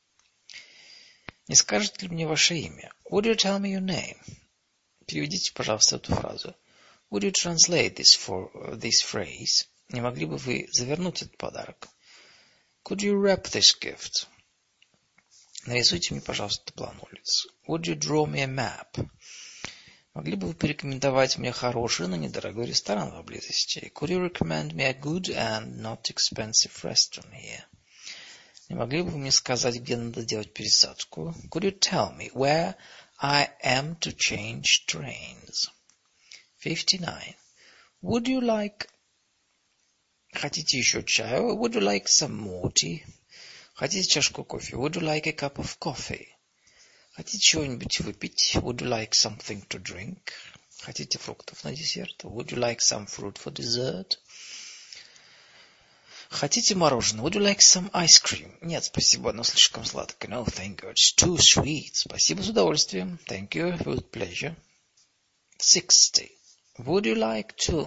Не скажете ли мне ваше имя? Would you tell me your name? Переведите, пожалуйста, эту фразу. Would you translate this for uh, this phrase? Не могли бы вы завернуть этот подарок? Could you wrap this gift? Нарисуйте мне, пожалуйста, план улиц. Would you draw me a map? Могли бы вы порекомендовать мне хороший, но недорогой ресторан поблизости? Could you recommend me a good and not expensive restaurant here? Не могли бы вы мне сказать, где надо делать пересадку? Could you tell me where I am to change trains? fifty-nine. Would you like... Хотите еще чаю? Would you like some more tea? Хотите чашку кофе? Would you like a cup of coffee? Хотите чего-нибудь выпить? Would you like something to drink? Хотите фруктов на десерт? Would you like some fruit for dessert? Хотите мороженое? Would you like some ice cream? Нет, спасибо, оно слишком сладкое. No, thank you, it's too sweet. Спасибо, с удовольствием. Thank you, with pleasure. sixty. Would you like to...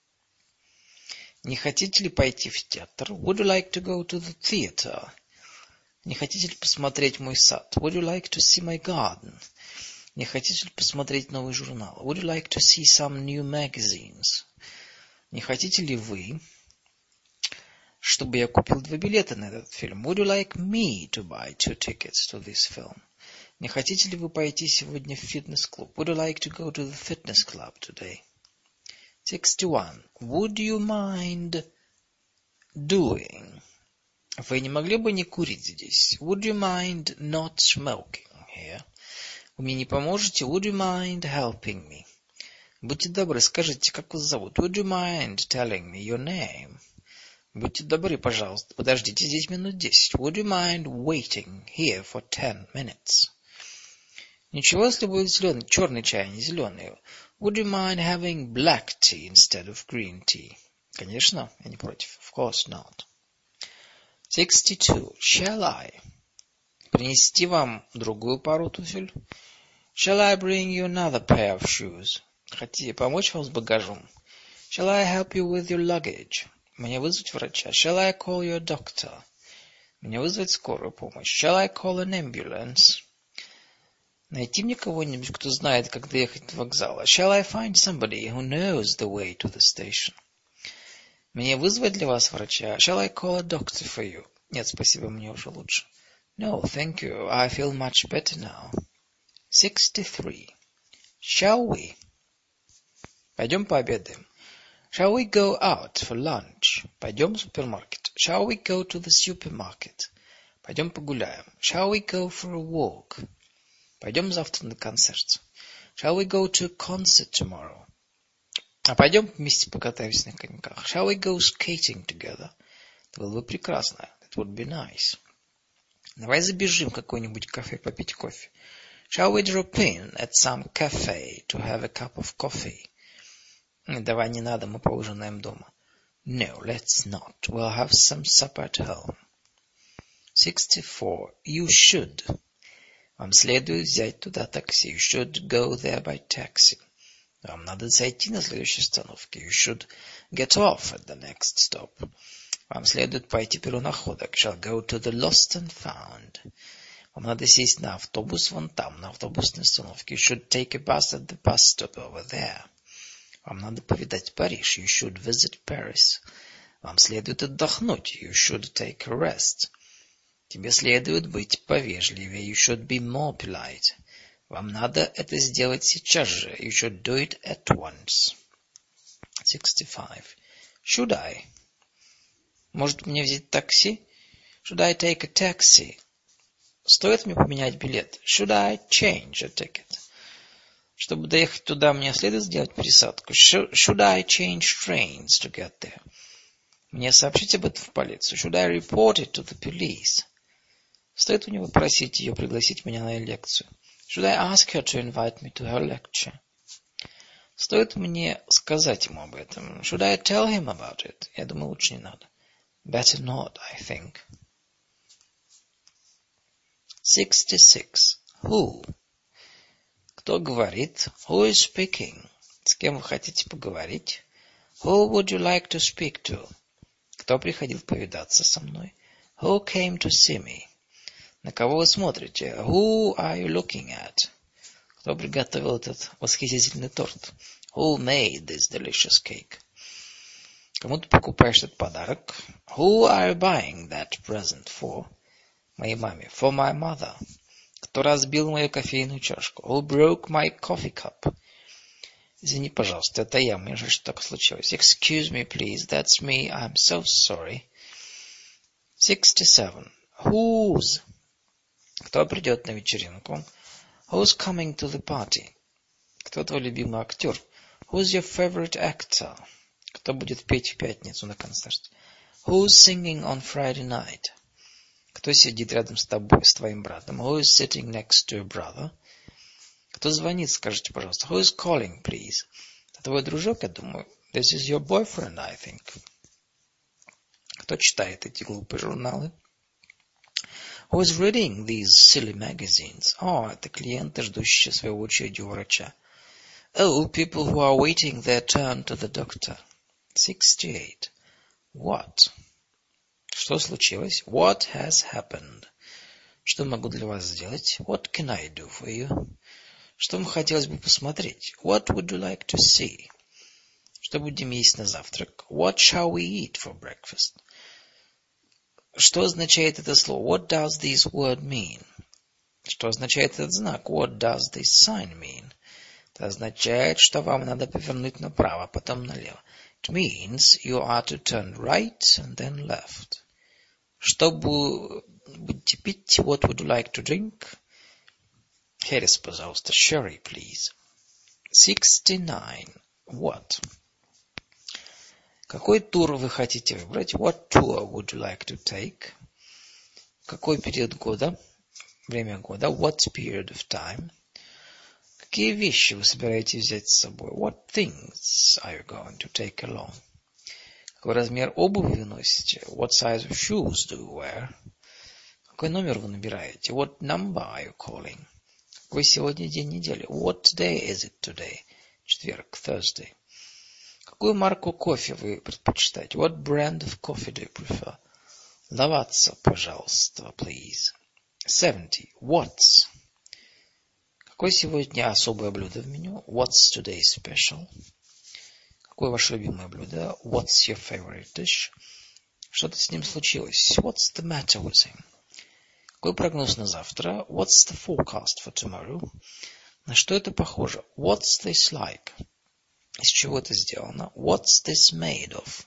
Не хотите ли пойти в театр? Would you like to go to the theater? Не хотите ли посмотреть мой сад? Would you like to see my garden? Не хотите ли посмотреть новый журнал? Would you like to see some new magazines? Не хотите ли вы, чтобы я купил два билета на этот фильм? Would you like me to buy two tickets to this film? Не хотите ли вы пойти сегодня в фитнес-клуб? Would you like to go to the fitness club today? sixty-one. Would you mind doing? Вы не могли бы не курить здесь? Would you mind not smoking here? Вы мне не поможете? Would you mind helping me? Будьте добры, скажите, как вас зовут? Would you mind telling me your name? Будьте добры, пожалуйста, подождите здесь минут десять. Would you mind waiting here for ten minutes? Ничего, если будет зеленый, черный чай, а не зеленый. Would you mind having black tea instead of green tea? Конечно, я не против. Of course not. sixty-two. Shall I? Принести вам другую пару туфель? Shall I bring you another pair of shoes? Хотите помочь вам с багажом? Shall I help you with your luggage? Мне вызвать врача? Shall I call you a doctor? Мне вызвать скорую помощь? Shall I call an ambulance? Найти мне кого-нибудь, кто знает, как доехать до вокзала? Shall I find somebody who knows the way to the station? Мне вызвать для вас врача? Shall I call a doctor for you? Нет, спасибо, мне уже лучше. No, thank you. I feel much better now. sixty-three. Shall we? Пойдем пообедаем. Shall we go out for lunch? Пойдем в супермаркет. Shall we go to the supermarket? Пойдем погуляем. Shall we go for a walk? Пойдем завтра на концерт. Shall we go to a concert tomorrow? А пойдем вместе покатаемся на коньках. Shall we go skating together? Это было бы прекрасно. That would be nice. Давай забежим в какое-нибудь кафе попить кофе. Shall we drop in at some cafe to have a cup of coffee? Давай не надо, мы поужинаем дома. No, let's not. We'll have some supper at home. sixty-four. You should. Вам следует взять туда такси. You should go there by taxi. Вам надо зайти на следующей остановке. You should get off at the next stop. Вам следует пойти первонаходок. Shall go to the lost and found. Вам надо сесть на автобус вон там, на автобусной остановке. You should take a bus at the bus stop over there. Вам надо повидать Париж. You should visit Paris. Вам следует отдохнуть. You should take a rest. Тебе следует быть повежливее. You should be more polite. Вам надо это сделать сейчас же. You should do it at once. sixty-five. Should I? Может мне взять такси? Should I take a taxi? Стоит мне поменять билет? Should I change a ticket? Чтобы доехать туда, мне следует сделать пересадку. Should I change trains to get there? Мне сообщить об этом в полицию. Should I report it to the police? Стоит у него просить ее пригласить меня на лекцию. Should I ask her to invite me to her lecture? Стоит мне сказать ему об этом. Should I tell him about it? Я думаю, лучше не надо. Better not, I think. sixty-six. Who? Кто говорит? Who is speaking? С кем вы хотите поговорить? Who would you like to speak to? Кто приходил повидаться со мной? Who came to see me? На кого вы смотрите? Who are you looking at? Кто приготовил этот восхитительный торт? Who made this delicious cake? Кому ты покупаешь этот подарок? Who are you buying that present for? Моей маме. For my mother. Кто разбил мою кофейную чашку? Who broke my coffee cup? Извини, пожалуйста, это я. Мне жаль, что так случилось. Excuse me, please. That's me. I'm so sorry. sixty-seven. Whose? Кто придет на вечеринку? Who's coming to the party? Кто твой любимый актер? Who's your favorite actor? Кто будет петь в пятницу на концерте? Who's singing on Friday night? Кто сидит рядом с тобой, с твоим братом? Who is sitting next to your brother? Кто звонит, скажите, пожалуйста. Who is calling, please? Это твой дружок, я думаю. This is your boyfriend, I think. Кто читает эти глупые журналы? Who is reading these silly magazines? О, это клиенты, ждущие своей очереди у врача. Oh, people who are waiting their turn to the doctor. sixty-eight. What? Что случилось? What has happened? Что могу для вас сделать? What can I do for you? Что вам хотелось бы посмотреть? What would you like to see? Что будем есть на завтрак? What shall we eat for breakfast? Что означает это слово? What does this word mean? Что означает этот знак? What does this sign mean? Это означает, что вам надо повернуть направо, потом налево. It means you are to turn right and then left. Что будете пить? What would you like to drink? Херес, пожалуйста. Sherry, please. sixty-nine. What? Какой тур вы хотите выбрать? What tour would you like to take? Какой период года? Время года. What period of time? Какие вещи вы собираетесь взять с собой? What things are you going to take along? Какой размер обуви вы носите? What size of shoes do you wear? Какой номер вы набираете? What number are you calling? Какой сегодня день недели? What day is it today? Четверг, Thursday. Какую марку кофе вы предпочитаете? What brand of coffee do you prefer? Лаватса, пожалуйста, please. seventy. What's? Какое сегодня особое блюдо в меню? What's today's special? Какое ваше любимое блюдо? What's your favorite dish? Что-то с ним случилось. What's the matter with him? Какой прогноз на завтра? What's the forecast for tomorrow? На что это похоже? What's this like? Из чего это сделано? What's this made of?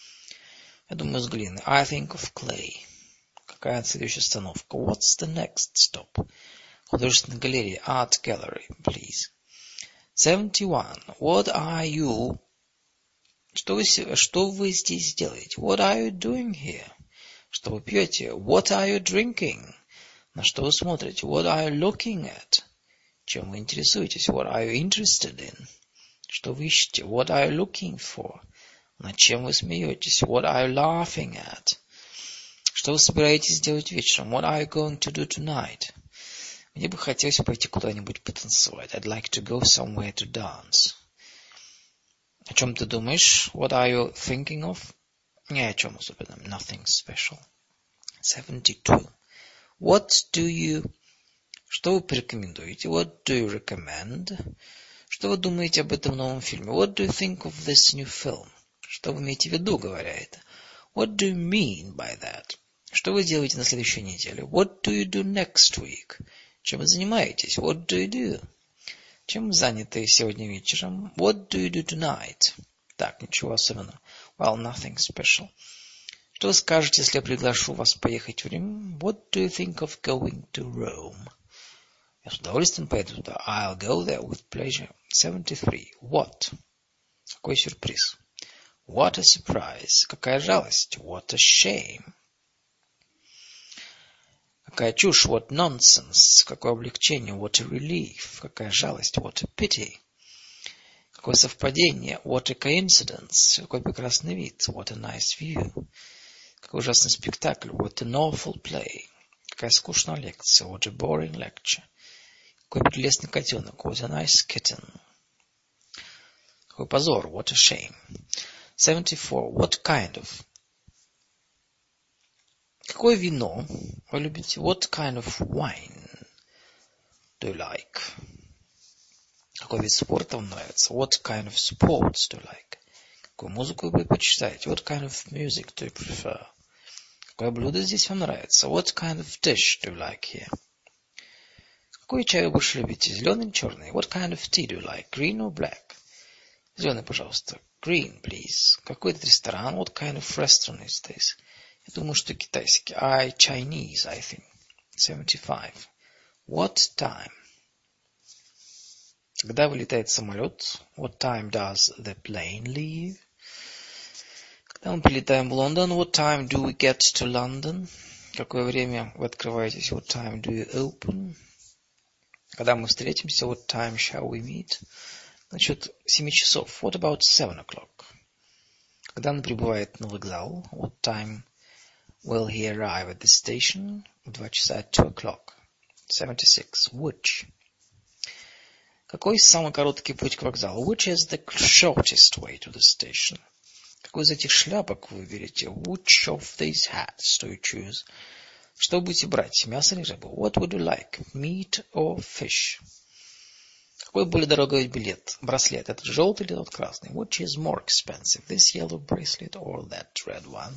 Я думаю, с глины. I think of clay. Какая следующая остановка? What's the next stop? Художественная галерея. Art gallery, please. seventy-one. What are you... Что вы, что вы здесь делаете? What are you doing here? Что вы пьете? What are you drinking? На что вы смотрите? What are you looking at? Чем вы интересуетесь? What are you interested in? Что вы ищете? What are you looking for? Над чем вы смеетесь? What are you laughing at? Что вы собираетесь делать вечером? What are you going to do tonight? Мне бы хотелось пойти куда-нибудь потанцевать. I'd like to go somewhere to dance. О чем ты думаешь? What are you thinking of? Ни о чем особенном. Nothing special. seventy-two. What do you... Что вы порекомендуете? What do you recommend? Что вы думаете об этом новом фильме? What do you think of this new film? Что вы имеете в виду, говоря это? What do you mean by that? Что вы делаете на следующей неделе? What do you do next week? Чем вы занимаетесь? What do you do? Чем вы заняты сегодня вечером? What do you do tonight? Так, ничего особенного. Well, nothing special. Что вы скажете, если я приглашу вас поехать в Рим? What do you think of going to Rome? Я с удовольствием поеду туда. I'll go there with pleasure. seventy-three. What? Какой сюрприз? What a surprise. Какая жалость. What a shame. Какая чушь. What nonsense. Какое облегчение. What a relief. Какая жалость. What a pity. Какое совпадение. What a coincidence. Какой прекрасный вид. What a nice view. Какой ужасный спектакль. What an awful play. Какая скучная лекция. What a boring lecture. Какой прелестный котенок. What a nice kitten. Какой позор. What a shame. seventy-four. What kind of? Какое вино вы любите? What kind of wine do you like? Какой вид спорта вам нравится? What kind of sports do you like? Какую музыку вы предпочитаете? What kind of music do you prefer? Какое блюдо здесь вам нравится? What kind of dish do you like here? Какой чай вы больше любите? Зеленый или черный? What kind of tea do you like? Green or black? Зеленый, пожалуйста. Green, please. Какой это ресторан? What kind of restaurant is this? Я думаю, что китайский. I Chinese, I think. seventy-five. What time? Когда вылетает самолет? What time does the plane leave? Когда мы прилетаем в Лондон? What time do we get to London? Какое время вы открываетесь? What time do you open? Когда мы встретимся? What time shall we meet? Насчет семи часов. What about seven o'clock? Когда он прибывает на вокзал? What time will he arrive at the station? В два часа. At two o'clock. seventy-six. Which? Какой самый короткий путь к вокзалу? Which is the shortest way to the station? Какой из этих шляпок вы выберете? Which of these hats do you choose? Что вы будете брать? Мясо или рыбу? What would you like? Meat or fish? Какой более дорогой билет? Браслет. Этот желтый или тот красный? Which is more expensive? This yellow bracelet or that red one?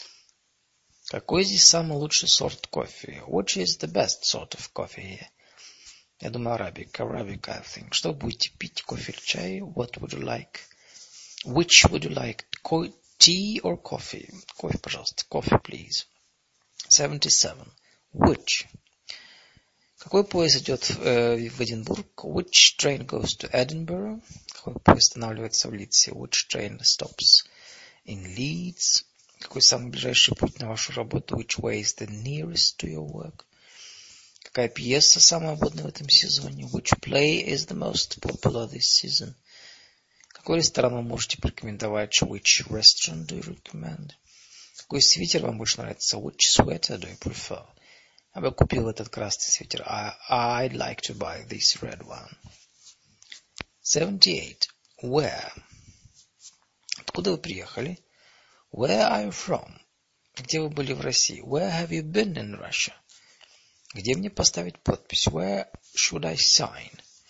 Какой здесь самый лучший сорт кофе? Which is the best sort of coffee here? Я думаю, Arabic. Arabic, I think. Что вы будете пить? Кофе или чай? What would you like? Which would you like? Tea or coffee? Кофе, пожалуйста. Coffee, please. seventy-seven. Which? Какой поезд идет э, в Эдинбург? Which train goes to Edinburgh? Какой поезд останавливается в Лидсе? Which train stops in Leeds? Какой самый ближайший путь на вашу работу? Which way is the nearest to your work? Какая пьеса самая модная в этом сезоне? Which play is the most popular this season? Какой ресторан вы можете порекомендовать? Which restaurant do you recommend? Какой свитер вам больше нравится? Which sweater do you prefer? Я бы купил этот красный свитер. I, I'd like to buy this red one. seventy-eight. Where? Откуда вы приехали? Where are you from? Где вы были в России? Where have you been in Russia? Где мне поставить подпись? Where should I sign?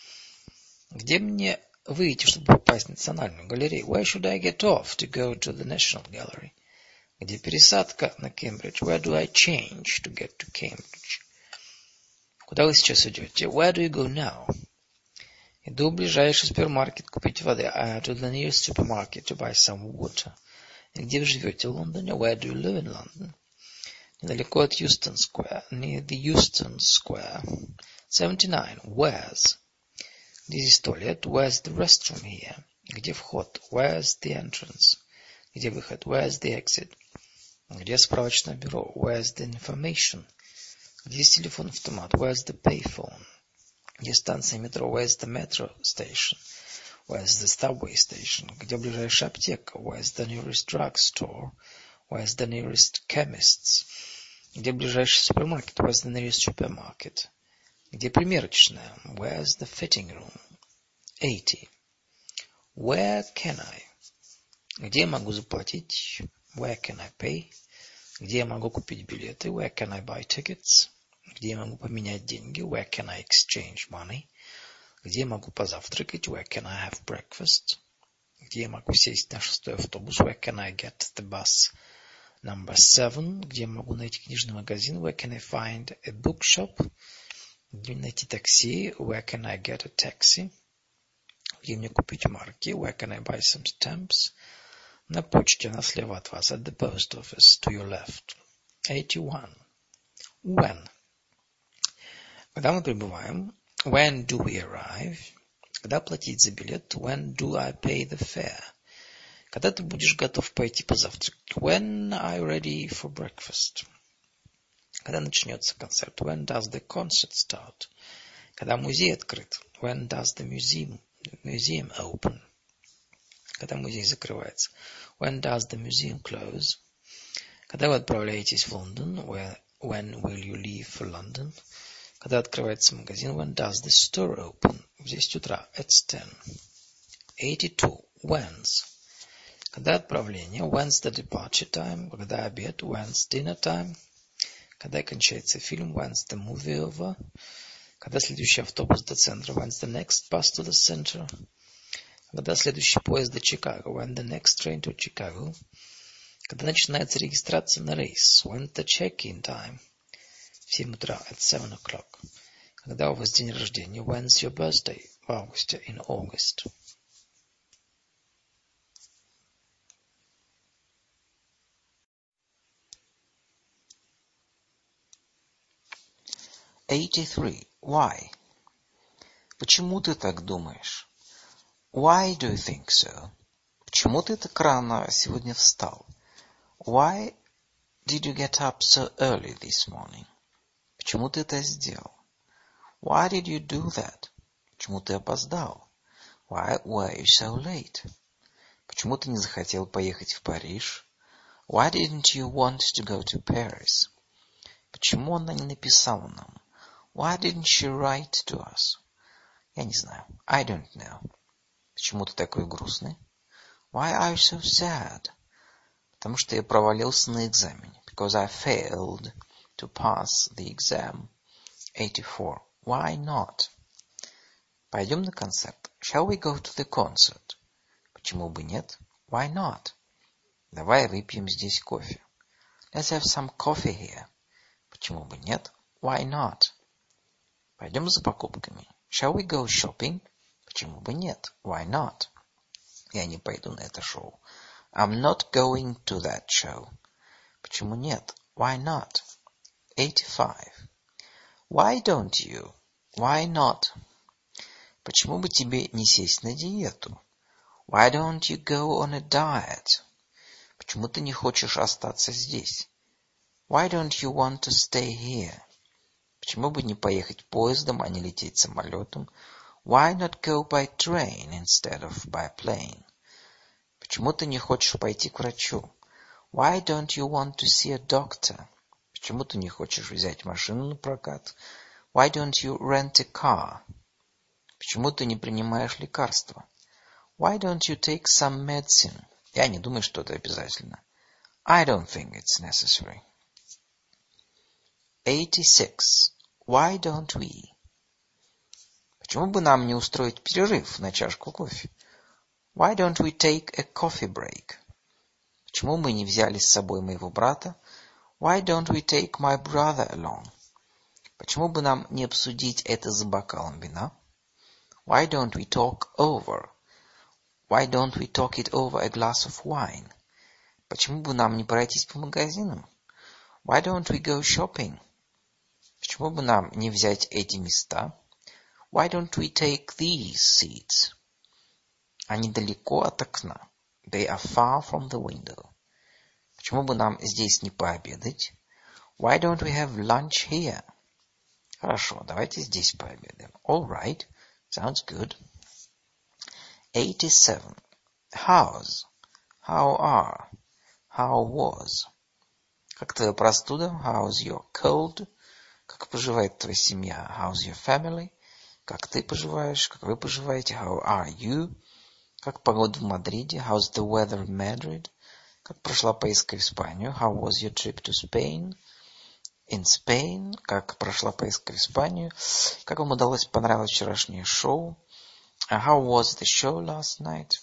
Где мне выйти, чтобы попасть в Национальную галерею? Where should I get off to go to the National Gallery? Где пересадка на Кембридж? Where do I change to get to Cambridge? Куда вы сейчас идете? Where do you go now? Иду в ближайший супермаркет купить воды. I to the nearest supermarket to buy some water. И где вы живете? В Лондоне? Where do you live in London? Недалеко от Euston Square. Near the Euston Square. seventy-nine. Where's? Где здесь туалет? Where's the restroom here? Где вход? Where's the entrance? Где выход? Where's the exit? Где справочное бюро? Where's the information? Где есть телефон-автомат? Where's the payphone? Где станция метро? Where's the metro station? Where's the subway station? Где ближайшая аптека? Where's the nearest drugstore? Where's the nearest chemist's? Где ближайший супермаркет? Where's the nearest supermarket? Где примерочная? Where's the fitting room? eighty. Where can I? Где я могу заплатить? Where can I pay? Где я могу купить билеты? Where can I buy tickets? Где я могу поменять деньги? Where can I exchange money? Где я могу позавтракать? Where can I have breakfast? Где я могу сесть на шестой автобус? Where can I get the bus number seven? Где я могу найти книжный магазин? Where can I find a bookshop? Где найти такси? Where can I get a taxi? Где мне купить марки? Where can I buy some stamps? На почте, она слева от вас. At the post office, to your left. eighty-one. When? Когда мы прибываем? When do we arrive? Когда платить за билет? When do I pay the fare? Когда ты будешь готов пойти позавтракать? When are you ready for breakfast? Когда начнется концерт? When does the concert start? Когда музей открыт? When does the museum, museum open? Когда музей закрывается? When does the museum close? Когда вы отправляетесь в Лондон? When, When will you leave for London? Когда открывается магазин? When does the store open? В десять утра. At ten. eighty-two. When's? Когда отправление? When's the departure time? Когда обед? When's dinner time? Когда кончается фильм? When's the movie over? Когда следующий автобус до центра? When's the next bus to the center? Когда следующий поезд до Чикаго? When the next train to Chicago? Когда начинается регистрация на рейс? When's the check-in time? В семь утра. At seven o'clock. Когда у вас день рождения? When's your birthday? В августе. In August. eighty-three. Why? Почему ты так думаешь? Why do you think so? Почему ты так рано сегодня встал? Why did you get up so early this morning? Почему ты это сделал? Why did you do that? Почему ты опоздал? Why were you so late? Почему ты не захотел поехать в Париж? Why didn't you want to go to Paris? Почему она не написала нам? Why didn't she write to us? Я не знаю. I don't know. Почему ты такой грустный? Why are you so sad? Потому что я провалился на экзамене. Because I failed to pass the exam. eighty-four. Why not? Пойдем на концерт. Shall we go to the concert? Почему бы нет? Why not? Давай выпьем здесь кофе. Let's have some coffee here. Почему бы нет? Why not? Пойдем за покупками. Shall we go shopping? Почему бы нет? Why not? Я не пойду на это шоу. I'm not going to that show. Почему нет? Why not? eighty-five. Why don't you? Why not? Почему бы тебе не сесть на диету? Why don't you go on a diet? Почему ты не хочешь остаться здесь? Why don't you want to stay here? Почему бы не поехать поездом, а не лететь самолетом? Why not go by train instead of by plane? Почему ты не хочешь пойти к врачу? Why don't you want to see a doctor? Почему ты не хочешь взять машину на прокат? Why don't you rent a car? Почему ты не принимаешь лекарства? Why don't you take some medicine? Я не думаю, что это обязательно. I don't think it's necessary. eighty-six. Why don't we? Почему бы нам не устроить перерыв на чашку кофе? Why don't we take a coffee break? Почему мы не взяли с собой моего брата? Why don't we take my brother along? Почему бы нам не обсудить это за бокалом вина? Why don't we talk over? Why don't we talk it over a glass of wine? Почему бы нам не пройтись по магазинам? Why don't we go shopping? Почему бы нам не взять эти места? Why don't we take these seats? Они далеко от окна. They are far from the window. Почему бы нам здесь не пообедать? Why don't we have lunch here? Хорошо, давайте здесь пообедаем. All right, sounds good. eighty-seven. How's? How are? How was? Как твоя простуда? How's your cold? Как поживает твоя семья? How's your family? Как ты поживаешь? Как вы поживаете? How are you? Как погода в Мадриде? How's the weather in Madrid? Как прошла поездка в Испанию? How was your trip to Spain? In Spain. Как прошла поездка в Испанию? Как вам удалось понравилось вчерашнее шоу? How was the show last night?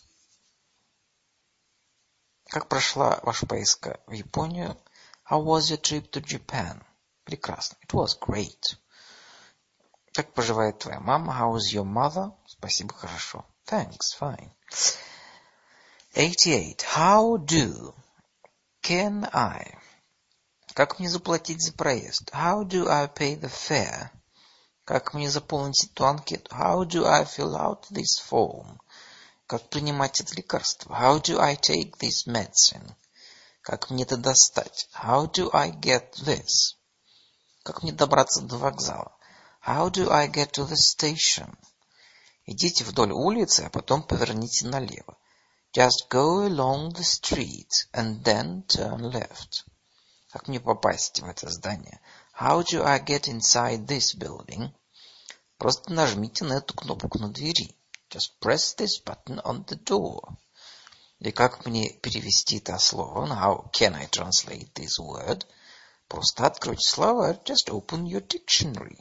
Как прошла ваша поездка в Японию? How was your trip to Japan? Прекрасно. It was great. Как поживает твоя мама? How is your mother? Спасибо, хорошо. Thanks, fine. eighty-eight. How do? Can I? Как мне заплатить за проезд? How do I pay the fare? Как мне заполнить эту анкету? How do I fill out this form? Как принимать это лекарство? How do I take this medicine? Как мне это достать? How do I get this? Как мне добраться до вокзала? How do I get to the station? Идите вдоль улицы, а потом поверните налево. Just go along the street and then turn left. Как мне попасть в это здание? How do I get inside this building? Просто нажмите на эту кнопку на двери. Just press this button on the door. И как мне перевести это слово? How can I translate this word? Просто откройте словарь. Just open your dictionary.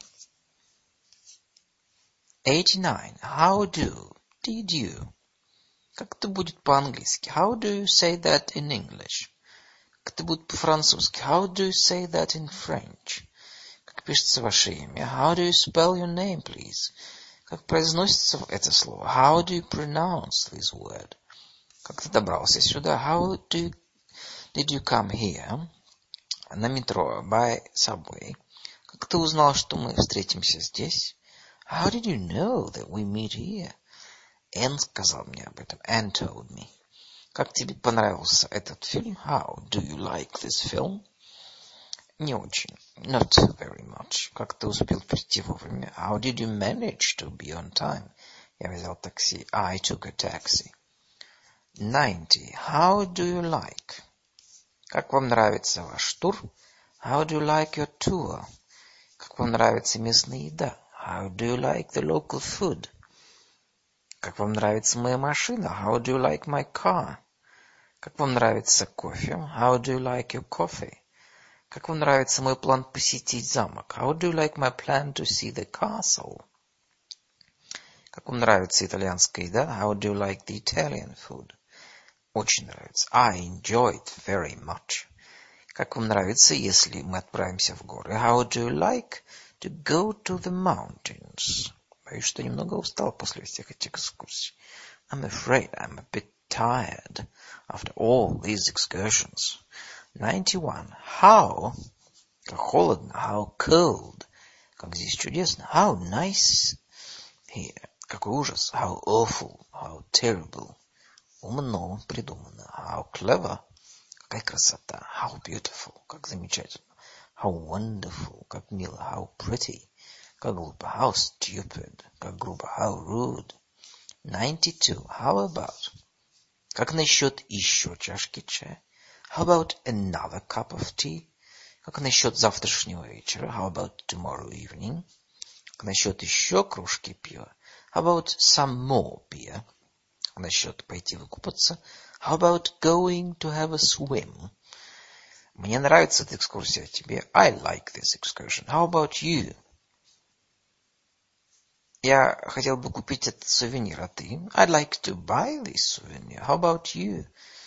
eighty-nine. How do? Did you? Как это будет по-английски? How do you say that in English? Как это будет по-французски? How do you say that in French? Как пишется ваше имя? How do you spell your name, please? Как произносится это слово? How do you pronounce this word? Как ты добрался сюда? How do you, did you come here? На метро, by subway. Как ты узнал, что мы встретимся здесь? How did you know that we meet here? Энн сказал мне об этом. Anne told me. Как тебе понравился этот фильм? How do you like this film? Не очень. Not very much. Как ты успел прийти вовремя? How did you manage to be on time? Я взял такси. I took a taxi. ninety. How do you like? Как вам нравится ваш тур? How do you like your tour? Как вам нравится местная еда? How do you like the local food? Как вам нравится моя машина? How do you like my car? Как вам нравится кофе? How do you like your coffee? Как вам нравится мой план посетить замок? How do you like my plan to see the castle? Как вам нравится итальянская еда? How do you like the Italian food? Очень нравится. I enjoy it very much. Как вам нравится, если мы отправимся в горы? How do you like to go to the mountains? Боюсь, что немного устал после всех этих экскурсий. I'm afraid I'm a bit tired after all these excursions. ninety-one. How? Как холодно. How cold? Как здесь чудесно. How nice here. Какой ужас. How awful. How terrible. Умно придумано. How clever. Какая красота. How beautiful. Как замечательно. How wonderful. Как мило. How pretty. Как глупо. How stupid. Как грубо. How rude. ninety-two. How about? Как насчет еще чашки чая? How about another cup of tea? Как насчет завтрашнего вечера? How about tomorrow evening? Как насчет еще кружки пива? How about some more beer? Как насчет пойти выкупаться? How about going to have a swim? Мне нравится эта экскурсия. Тебе? I like this excursion. How about you? Я хотел бы купить этот сувенир, а ты? I'd like to buy this souvenir. How about you?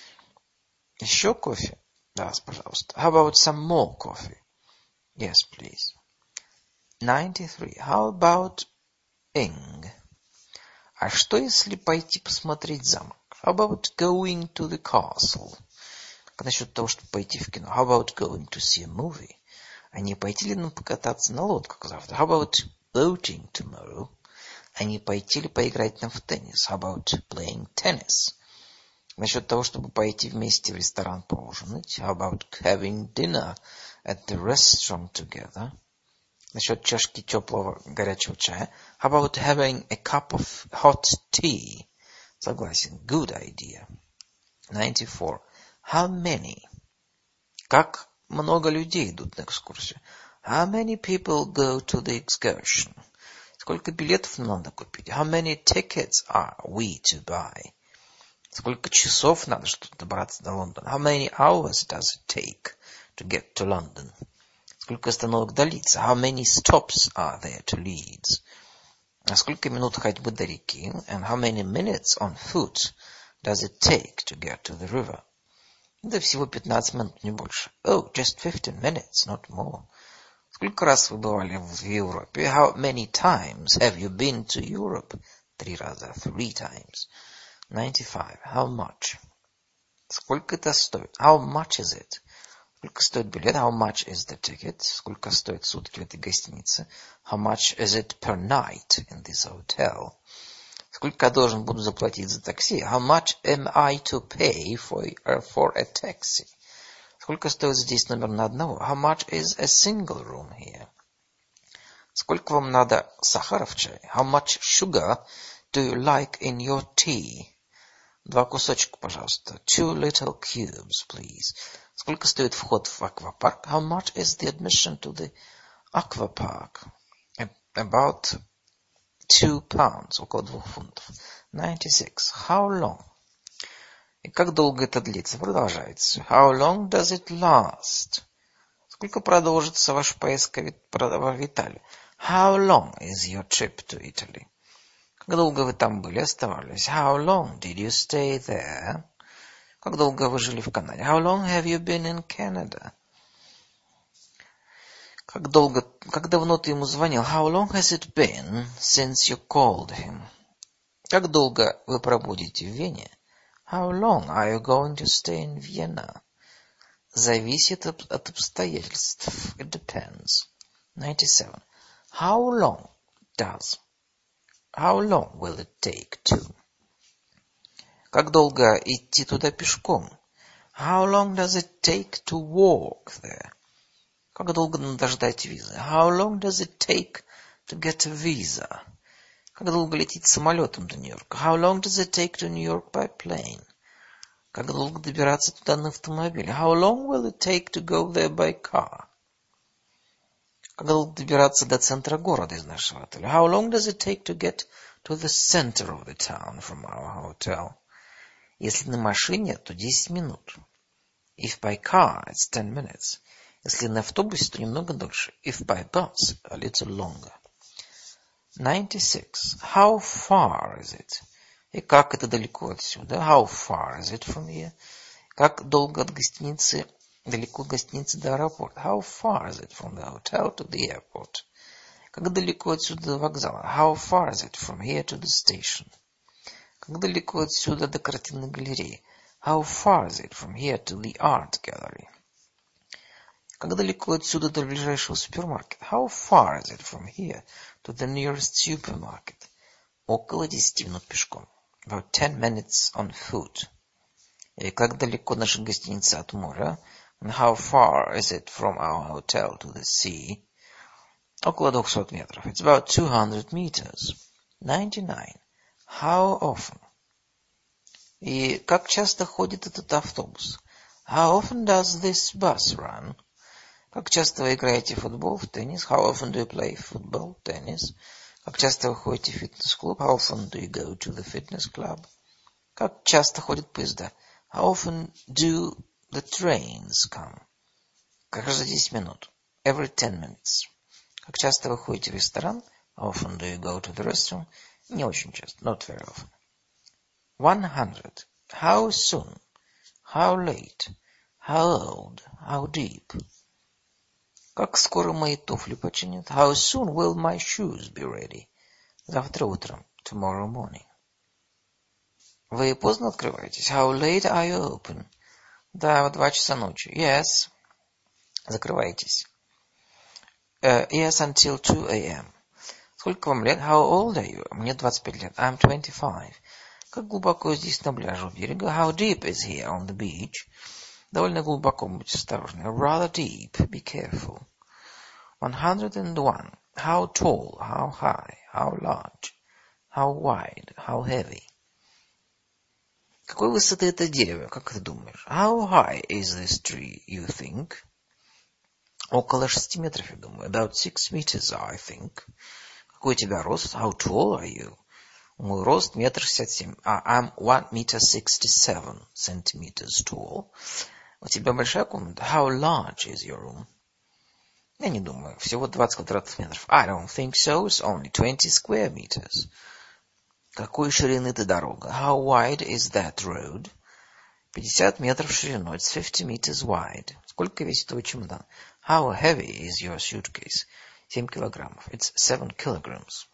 Еще кофе? Да, пожалуйста. How about some more coffee? Yes, please. ninety-three. How about ing? А что, если пойти посмотреть замок? How about going to the castle? Как насчет того, чтобы пойти в кино? How about going to see a movie? А не пойти ли нам покататься на лодках завтра? How about boating tomorrow? А не пойти ли поиграть нам в теннис? How about playing tennis? Насчет того, чтобы пойти вместе в ресторан поужинать. How about having dinner at the restaurant together? Насчет чашки теплого горячего чая. How about having a cup of hot tea? Согласен. Good idea. ninety-four. How many? Как много людей идут на экскурсию? How many people go to the excursion? Сколько билетов нам надо купить? How many tickets are we to buy? Сколько часов надо, чтобы добраться до Лондона? How many hours does it take to get to London? Сколько остановок до Лидса? How many stops are there to Leeds? А сколько минут ходьбы до реки? And how many minutes on foot does it take to get to the river? Да всего пятнадцать минут, не больше. Oh, just fifteen minutes, not more. Сколько раз вы бывали в Европе? How many times have you been to Europe? Три раза. Three times. ninety-five. How much? Сколько это стоит? How much is it? Сколько стоит билет? How much is the ticket? Сколько стоит сутки в этой гостинице? How much is it per night in this hotel? Сколько я должен буду заплатить за такси? How much am I to pay for, uh, for a taxi? Сколько стоит здесь номер на одного? How much is a single room here? Сколько вам надо сахара в чае? How much sugar do you like in your tea? Два кусочка, пожалуйста. Two little cubes, please. Сколько стоит вход в аквапарк? How much is the admission to the aquapark? About two pounds. Около двух фунтов. ninety-six. How long? И как долго это длится? Продолжается. How long does it last? Сколько продолжится ваш поездка в Италию? How long is your trip to Italy? Как долго вы там были, оставались? How long did you stay there? Как долго вы жили в Канаде? How long have you been in Canada? Как долго, как давно ты ему звонил? How long has it been since you called him? Как долго вы пробудете в Вене? How long are you going to stay in Vienna? Зависит от обстоятельств. It depends. ninety-seven. How long does? How long will it take to? Как долго идти туда пешком? How long does it take to walk there? Как долго надо ждать визы? How long does it take to get a visa? Как долго лететь самолетом до Нью-Йорка? How long does it take to New York by plane? Как долго добираться туда на автомобиле? How long will it take to go there by car? Как долго добираться до центра города из нашего отеля? How long does it take to get to the center of the town from our hotel? Если на машине, то десять минут. If by car, it's ten minutes. Если на автобусе, то немного дольше. If by bus, a little longer. ninety-six. How far is it? И как это далеко отсюда? How far is it from here? Как долго от гостиницы, далеко от гостиницы до аэропорта? How far is it from the hotel to the airport? Как далеко отсюда до вокзала? How far is it from here to the station? Как далеко отсюда до картинной галереи? How far is it from here to the art gallery? Как далеко отсюда до ближайшего супермаркета? How far is it from here to the nearest supermarket? Около десяти минут пешком. About ten minutes on foot. И как далеко наша гостиница от моря? And how far is it from our hotel to the sea? Около двухсот метров. It's about two hundred meters. ninety-nine. How often? И как часто ходит этот автобус? How often does this bus run? Как часто вы играете в футбол, в теннис? How often do you play football, tennis? Как часто вы ходите в фитнес-клуб? How often do you go to the fitness club? Как часто ходят поезда? How often do the trains come? Каждые десять минут. Every ten minutes. Как часто вы ходите в ресторан? How often do you go to the restaurant? Не очень часто. Not very often. one hundred. How soon? How late? How old? How deep? Как скоро мои туфли починят? How soon will my shoes be ready? Завтра утром. Tomorrow morning. Вы поздно открываетесь? How late are you open? Да, в два часа ночи. Yes. Закрываетесь. Uh, yes, until two a.m. Сколько вам лет? How old are you? Мне двадцать пять лет. I'm twenty-five. Как глубоко здесь на пляже у берега? How deep is here on the beach? Довольно глубоко, будьте осторожны. Rather deep. Be careful. one hundred one. How tall? How high? How large? How wide? How heavy? Какой высоты это дерево? Как ты думаешь? How high is this tree, you think? Около шести метров, я думаю. About six meters, I think. Какой у тебя рост? How tall are you? Мой рост метр шестьдесят семь. Uh, I'm one meter sixty-seven centimeters tall. У тебя большая комната? How large is your room? Я не думаю. Всего двадцать квадратных метров. I don't think so. It's only twenty square meters. Какой ширины эта дорога? How wide is that road? пятьдесят метров в ширину. It's fifty meters wide. Сколько весит твой чемодан? How heavy is your suitcase? семь килограммов. It's seven kilograms.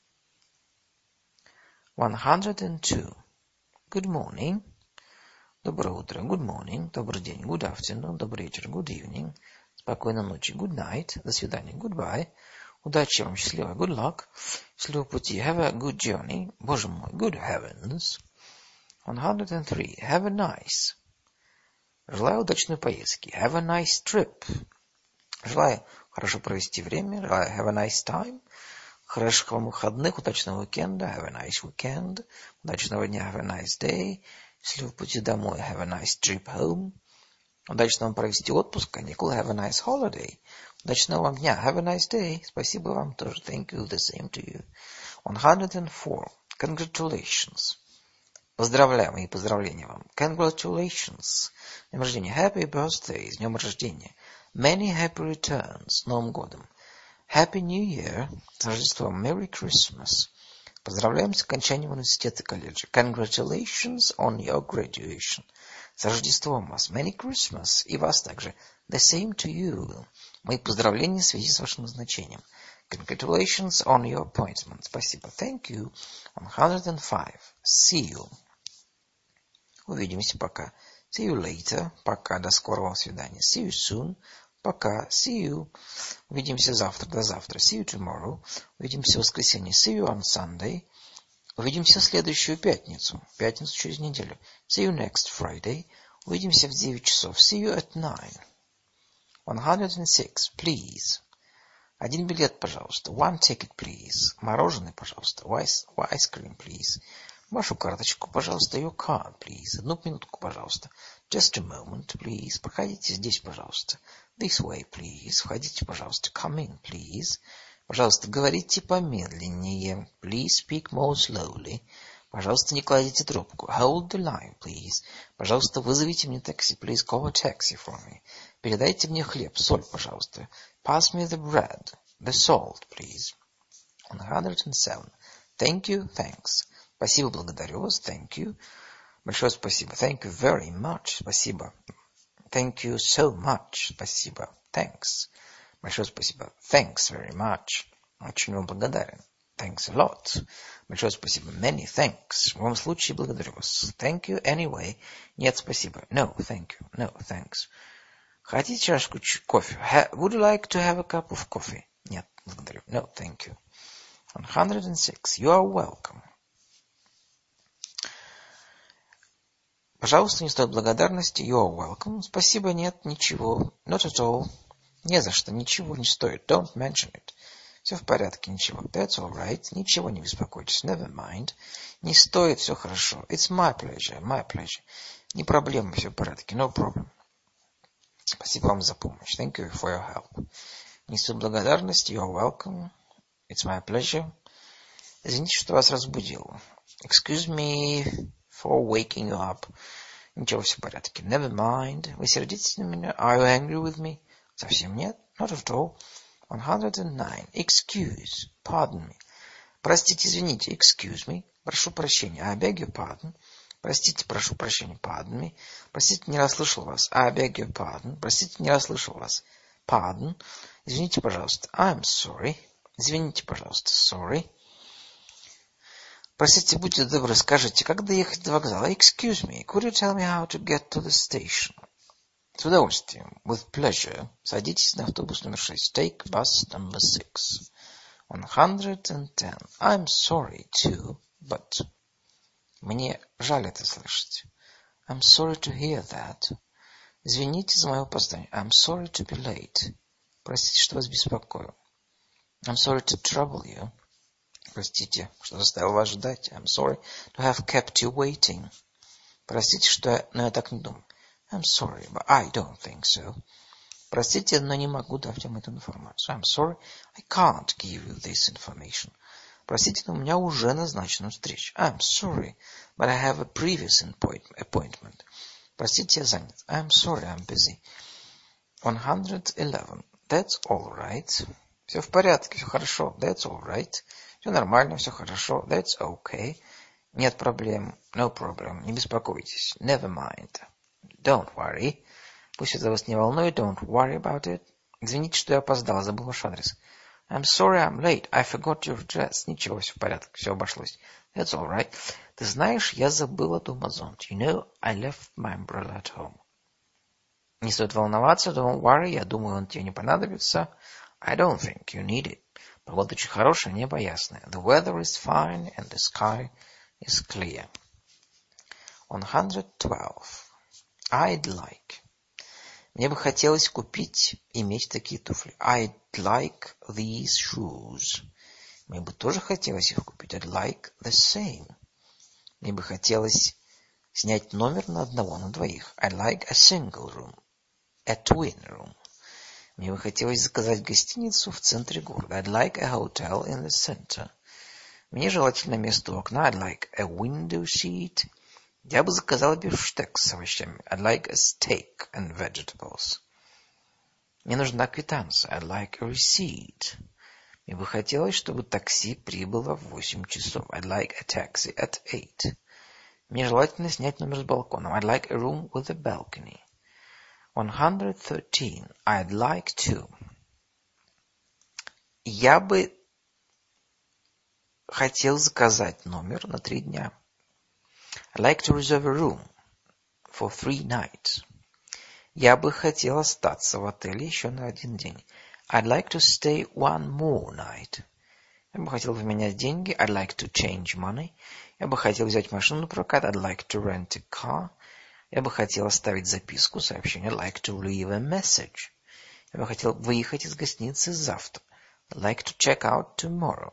one hundred two. Good morning. Доброе утро. Good morning. Добрый день. Good afternoon. Добрый вечер. Good evening. Спокойной ночи. Good night. До свидания. Goodbye. Удачи вам. Счастливо. Good luck. Счастливого пути. Have a good journey. Боже мой. Good heavens. one hundred three. Have a nice. Желаю удачной поездки. Have a nice trip. Желаю хорошо провести время. Желаю have a nice time. Хороших вам выходных. Удачного уикенда. Have a nice weekend. Удачного дня. Have a nice day. Счастливого пути домой. Have a nice trip home. Удачно вам провести отпуск, каникулы. Have a nice holiday. Удачного вам дня. Have a nice day. Спасибо вам тоже. Thank you. The same to you. one hundred four. Congratulations. Поздравляю, мои поздравления вам. Congratulations. С днем рождения. Happy birthday. С днем рождения. Many happy returns. С Новым годом. Happy New Year. С Рождеством. Merry Christmas. Поздравляем с окончанием университета и колледжа. Congratulations on your graduation. С Рождеством вас. Merry Christmas. И вас также. The same to you. Мои поздравления в связи с вашим назначением. Congratulations on your appointment. Спасибо. Thank you. one hundred five. See you. Увидимся. Пока. See you later. Пока. До скорого свидания. See you soon. Пока. See you. Увидимся завтра. До завтра. See you tomorrow. Увидимся в воскресенье. See you on Sunday. Увидимся в следующую пятницу. Пятницу через неделю. See you next Friday. Увидимся в девять часов. See you at nine. one hundred six. Please. Один билет, пожалуйста. One ticket, please. Мороженое, пожалуйста. Ice, ice cream, please. Вашу карточку, пожалуйста. Your card, please. Одну минутку, пожалуйста. Just a moment, please. Проходите здесь, пожалуйста. This way, please. Входите, пожалуйста. Come in, please. Пожалуйста, говорите помедленнее. Please speak more slowly. Пожалуйста, не кладите трубку. Hold the line, please. Пожалуйста, вызовите мне такси. Please call a taxi for me. Передайте мне хлеб, соль, пожалуйста. Pass me the bread, the salt, please. one hundred seven. Thank you, thanks. Спасибо, благодарю вас. Thank you. Большое спасибо. Thank you very much. Спасибо. Thank you so much. Спасибо. Thanks. Большое спасибо. Thanks very much. Очень вам благодарен. Thanks a lot. Большое спасибо. Many thanks. В любом случае, благодарю вас. Thank you anyway. Нет, спасибо. No, thank you. No, thanks. Хотите чашку кофе? Ha- Would you like to have a cup of coffee? Нет, благодарю. No, thank you. one hundred six. You are welcome. Пожалуйста, не стоит благодарности. You are welcome. Спасибо, нет, ничего. Not at all. Не за что, ничего не стоит. Don't mention it. Все в порядке, ничего. That's all right. Ничего не беспокойтесь. Never mind. Не стоит, все хорошо. It's my pleasure. My pleasure. Не проблема, все в порядке. No problem. Спасибо вам за помощь. Thank you for your help. Несу благодарность. You are welcome. It's my pleasure. Извините, что вас разбудил. Excuse me for waking you up. Ничего, все в порядке. Never mind. Вы сердитесь на меня? Are you angry with me? Совсем нет. Not at all. one hundred nine. Excuse. Pardon me. Простите, извините. Excuse me. Прошу прощения. I beg your pardon. Простите, прошу прощения. Pardon me. Простите, не расслышал вас. I beg your pardon. Простите, не расслышал вас. Pardon. Извините, пожалуйста. I'm sorry. Извините, пожалуйста. Sorry. Простите, будьте добры, скажите, как доехать до вокзала? Excuse me. Could you tell me how to get to the station? С удовольствием. With pleasure. Садитесь на автобус номер шесть. Take bus number six. one hundred ten. I'm sorry too, but... Мне жаль это слышать. I'm sorry to hear that. Извините за мое опоздание. I'm sorry to be late. Простите, что вас беспокою. I'm sorry to trouble you. Простите, что заставил вас ждать. I'm sorry to have kept you waiting. Простите, что я... Но я так не думаю. I'm sorry, but I don't think so. Простите, но не могу дать вам эту информацию. I'm sorry, I can't give you this information. Простите, но у меня уже назначена встреча. I'm sorry, but I have a previous appointment. Простите, я занят. I'm sorry, I'm busy. one hundred eleven. That's all right. Все в порядке, все хорошо. That's all right. Все нормально, все хорошо. That's okay. Нет проблем. No problem. Не беспокойтесь. Never mind. Don't worry. Пусть это вас не волнует. Don't worry about it. Извините, что я опоздал, забыл ваш адрес. I'm sorry I'm late. I forgot your address. Ничего, все в порядке, все обошлось. That's all right. Ты знаешь, я забыла дома зонт. You know, I left my umbrella at home. Не стоит волноваться. Don't worry. Я думаю, он тебе не понадобится. I don't think you need it. Погода очень хорошая, небо ясное. The weather is fine and the sky is clear. one hundred twelve. I'd like. Мне бы хотелось купить, иметь такие туфли. I'd like these shoes. Мне бы тоже хотелось их купить. I'd like the same. Мне бы хотелось снять номер на одного, на двоих. I'd like a single room. A twin room. Мне бы хотелось заказать гостиницу в центре города. I'd like a hotel in the center. Мне желательно место у окна. I'd like a window seat. Я бы заказал бифштекс с овощами. I'd like a steak and vegetables. Мне нужна квитанция. I'd like a receipt. Мне бы хотелось, чтобы такси прибыло в восемь часов. I'd like a taxi at eight. Мне желательно снять номер с балконом. I'd like a room with a balcony. one hundred thirteen. I'd like to. Я бы хотел заказать номер на три дня. I'd like to reserve a room for three nights. Я бы хотел остаться в отеле еще на один день. I'd like to stay one more night. Я бы хотел поменять деньги. I'd like to change money. Я бы хотел взять машину на прокат. I'd like to rent a car. Я бы хотел оставить записку, сообщение. I'd like to leave a message. Я бы хотел выехать из гостиницы завтра. I'd like to check out tomorrow.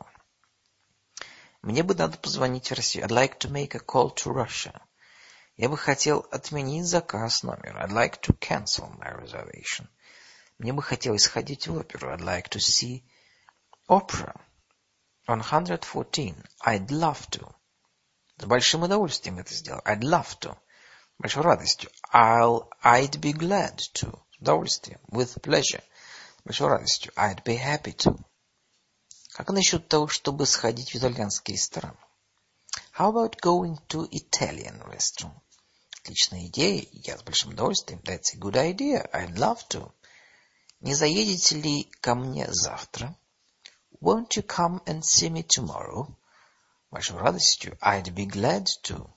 Мне бы надо позвонить в Россию. I'd like to make a call to Russia. Я бы хотел отменить заказ номера. I'd like to cancel my reservation. Мне бы хотелось сходить в оперу. I'd like to see opera. one hundred fourteen. I'd love to. С большим удовольствием это сделал. I'd love to. Большой радостью. I'll, I'd be glad to. С удовольствием. With pleasure. Большой радостью. I'd be happy to. Как насчет того, чтобы сходить в итальянский ресторан? How about going to Italian restaurant? Отличная идея. Я с большим удовольствием. That's a good idea. I'd love to. Не заедете ли ко мне завтра? Won't you come and see me tomorrow? Большой радостью. I'd be glad to.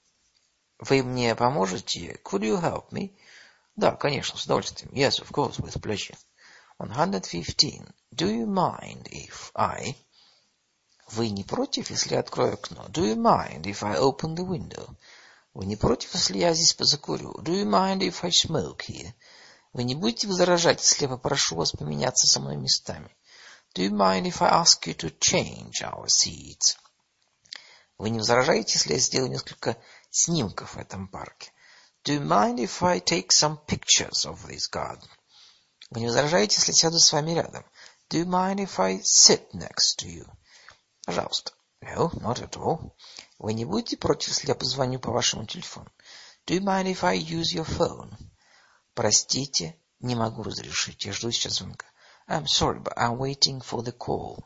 Вы мне поможете? Could you help me? Да, конечно, с удовольствием. Yes, of course, with pleasure. one hundred fifteen. Do you mind if I... Вы не против, если я открою окно? Do you mind if I open the window? Вы не против, если я здесь позакурю? Do you mind if I smoke here? Вы не будете возражать, если я попрошу вас поменяться со мной местами? Do you mind if I ask you to change our seats? Вы не возражаете, если я сделаю несколько снимков в этом парке? Do you mind if I take some pictures of this garden? Вы не возражаете, если я сяду с вами рядом? Do you mind if I sit next to you? Пожалуйста. No, not at all. Вы не будете против, если я позвоню по вашему телефону? Do you mind if I use your phone? Простите, не могу разрешить. Я жду сейчас звонка. I'm sorry, but I'm waiting for the call.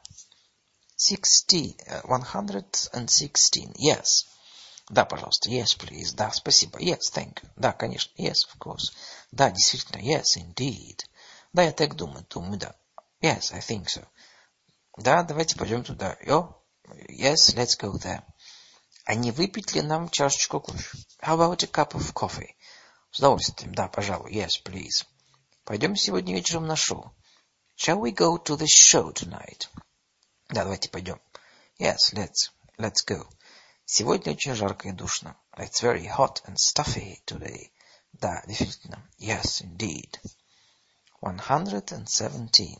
sixty, one hundred sixteen. Yes. Да, пожалуйста. Yes, please. Да, спасибо. Yes, thank you. Да, конечно. Yes, of course. Да, действительно. Yes, indeed. Да, я так думаю. Думаю, да. Yes, I think so. Да, давайте пойдем туда. Yo? Yes, let's go there. А не выпить ли нам чашечку кофе? How about a cup of coffee? С удовольствием. Да, пожалуй. Yes, please. Пойдем сегодня вечером на шоу. Shall we go to the show tonight? Да, давайте пойдем. Yes, let's. Let's go. Сегодня очень жарко и душно. It's very hot and stuffy today. Да, действительно. Yes, indeed. one hundred seventeen.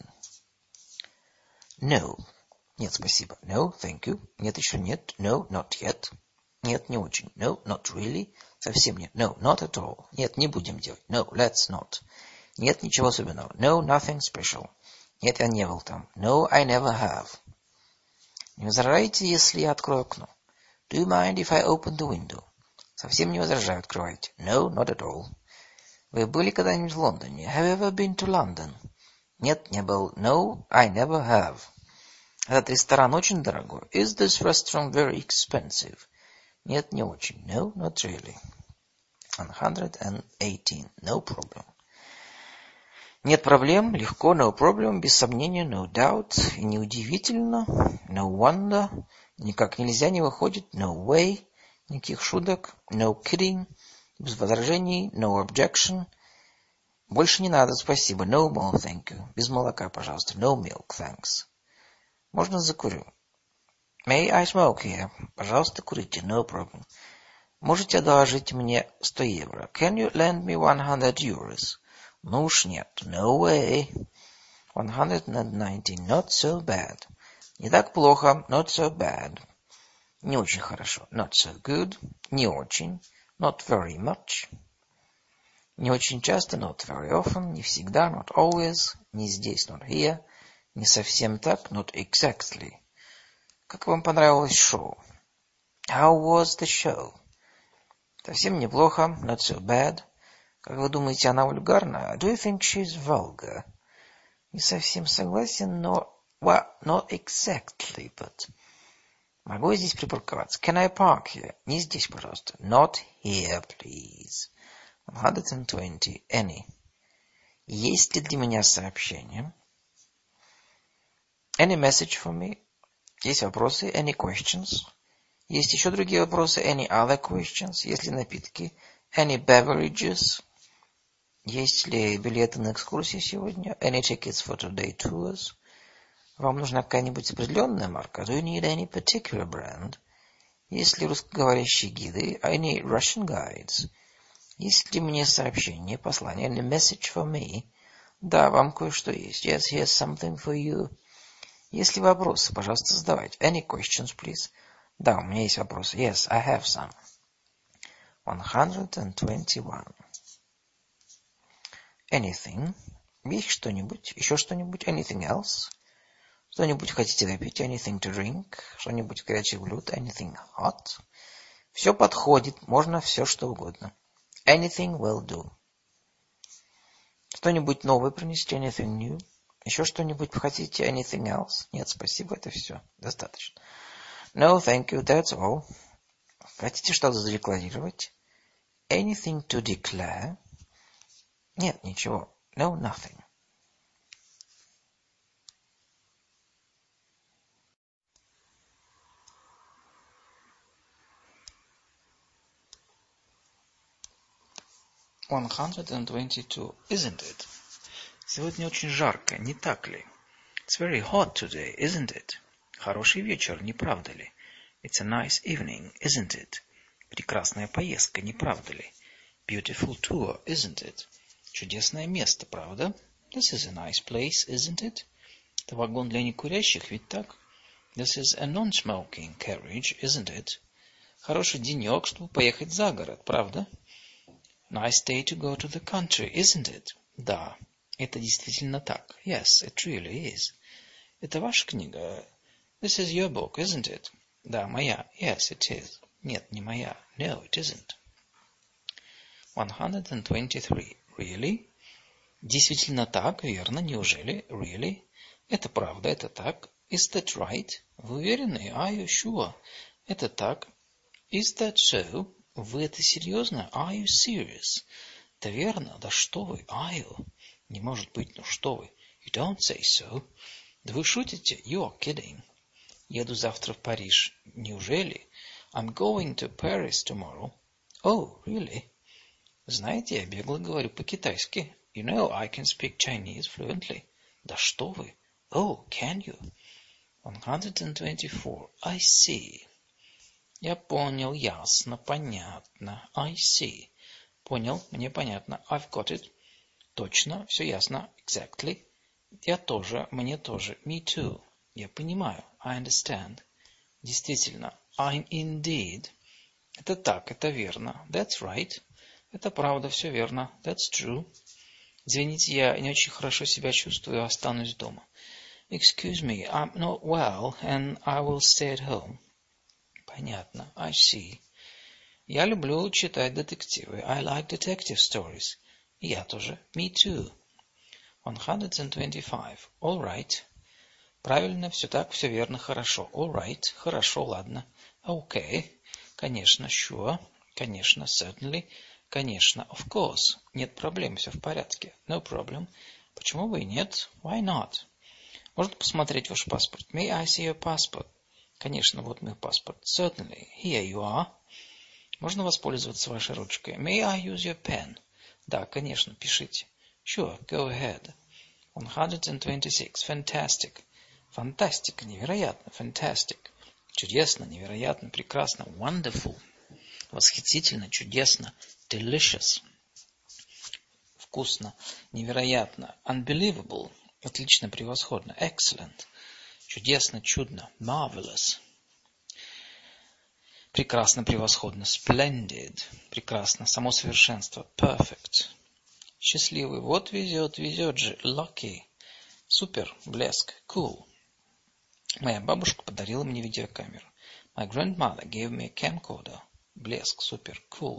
No. Нет, спасибо. No, thank you. Нет, еще нет. No, not yet. Нет, не очень. No, not really. Совсем нет. No, not at all. Нет, не будем делать. No, let's not. Нет, ничего особенного. No, nothing special. Нет, я не был там. No, I never have. Не возражаете, если я открою окно? Do you mind if I open the window? Совсем не возражаю, открывайте. No, not at all. Вы были когда-нибудь в Лондоне? Have you ever been to London? Нет, не был. No, I never have. Этот ресторан очень дорогой. Is this restaurant very expensive? Нет, не очень. No, not really. one hundred eighteen. No problem. Нет проблем, легко, no problem, без сомнения, no doubt, и неудивительно, no wonder, никак нельзя, не выходит, no way, никаких шуток, no kidding, без возражений, no objection, больше не надо, спасибо, no more, thank you, без молока, пожалуйста, no milk, thanks. Можно закурю? May I smoke here? Пожалуйста, курите, no problem. Можете одолжить мне сто евро? Can you lend me one hundred euros? Ну уж нет. No way. one hundred nineteen. Not so bad. Не так плохо. Not so bad. Не очень хорошо. Not so good. Не очень. Not very much. Не очень часто, not very often. Не всегда, not always. Не здесь, not here. Не совсем так, not exactly. Как вам понравилось шоу? How was the show? Совсем неплохо, not so bad. Как вы думаете, она вульгарна? Do you think she's vulgar? Не совсем согласен, но... Well, not exactly, but... Могу я здесь припарковаться? Can I park here? Не здесь, пожалуйста. Not here, please. one hundred twenty. Any. Есть ли для меня сообщение? Any message for me? Есть вопросы? Any questions? Есть еще другие вопросы? Any other questions? Есть ли напитки? Any beverages? Есть ли билеты на экскурсии сегодня? Any tickets for today tours? Вам нужна какая-нибудь определенная марка? Do you need any particular brand? Есть ли русскоговорящие гиды? Any Russian guides? Есть ли мне сообщение, послание? Any message for me? Да, вам кое-что есть. Yes, here's something for you. Есть ли вопросы? Пожалуйста, задавайте. Any questions, please? Да, у меня есть вопросы. Yes, I have some. one hundred twenty-one. Anything. Есть что-нибудь? Еще что-нибудь? Anything else? Что-нибудь хотите выпить? Anything to drink? Что-нибудь горячих блюд? Anything hot? Все подходит. Можно все, что угодно. Anything will do. Что-нибудь новое принести? Anything new? Еще что-нибудь хотите? Anything else? Нет, спасибо, это все. Достаточно. No, thank you, that's all. Хотите что-то задекларировать? Anything to declare? Нет, ничего. No, nothing. one hundred twenty-two. Isn't it? Сегодня очень жарко, не так ли? It's very hot today, isn't it? Хороший вечер, не правда ли? It's a nice evening, isn't it? Прекрасная поездка, не правда ли? Beautiful tour, isn't it? Чудесное место, правда? This is a nice place, isn't it? Это вагон для некурящих, ведь так? This is a non-smoking carriage, isn't it? Хороший денек, чтобы поехать за город, правда? Nice day to go to the country, isn't it? Да, это действительно так. Yes, it really is. Это ваша книга? This is your book, isn't it? Да, моя. Yes, it is. Нет, не моя. No, it isn't. one hundred twenty-three. Really? Действительно так, верно, неужели? Really? Это правда, это так. Is that right? Вы уверены? Are you sure? Это так. Is that so? Вы это серьезно? Are you serious? Это верно? Да что вы? Are you? Не может быть, ну что вы? You don't say so. Да вы шутите? You are kidding. Еду завтра в Париж. Неужели? I'm going to Paris tomorrow. Oh, really? Знаете, я бегло говорю по-китайски. You know, I can speak Chinese fluently. Да что вы? Oh, can you? one hundred twenty-four. I see. Я понял, ясно, понятно. I see. Понял, мне понятно. I've got it. Точно, все ясно. Exactly. Я тоже, мне тоже. Me too. Я понимаю. I understand. Действительно. I'm indeed. Это так, это верно. That's right. Это правда, все верно. That's true. Извините, я не очень хорошо себя чувствую, останусь дома. Excuse me, I'm not well, and I will stay at home. Понятно. I see. Я люблю читать детективы. I like detective stories. И я тоже. Me too. one hundred twenty-five. All right. Правильно, все так, все верно, хорошо. All right. Хорошо, ладно. Okay. Конечно, sure. Конечно, certainly. Конечно, of course. Нет проблем, все в порядке. No problem. Почему бы и нет? Why not? Можно посмотреть ваш паспорт? May I see your passport? Конечно, вот мой паспорт. Certainly. Here you are. Можно воспользоваться вашей ручкой? May I use your pen? Да, конечно, пишите. Sure, go ahead. one hundred twenty-six. Fantastic. Фантастика, невероятно. Fantastic. Чудесно, невероятно, прекрасно. Wonderful. Восхитительно, чудесно. Delicious. Вкусно, невероятно. Unbelievable. Отлично, превосходно. Excellent. Чудесно, чудно. Marvelous. Прекрасно, превосходно. Splendid. Прекрасно. Само совершенство. Perfect. Счастливый. Вот везет, везет же. Lucky. Супер. Блеск. Cool. Моя бабушка подарила мне видеокамеру. My grandmother gave me a camcorder. Блеск. Супер. Cool.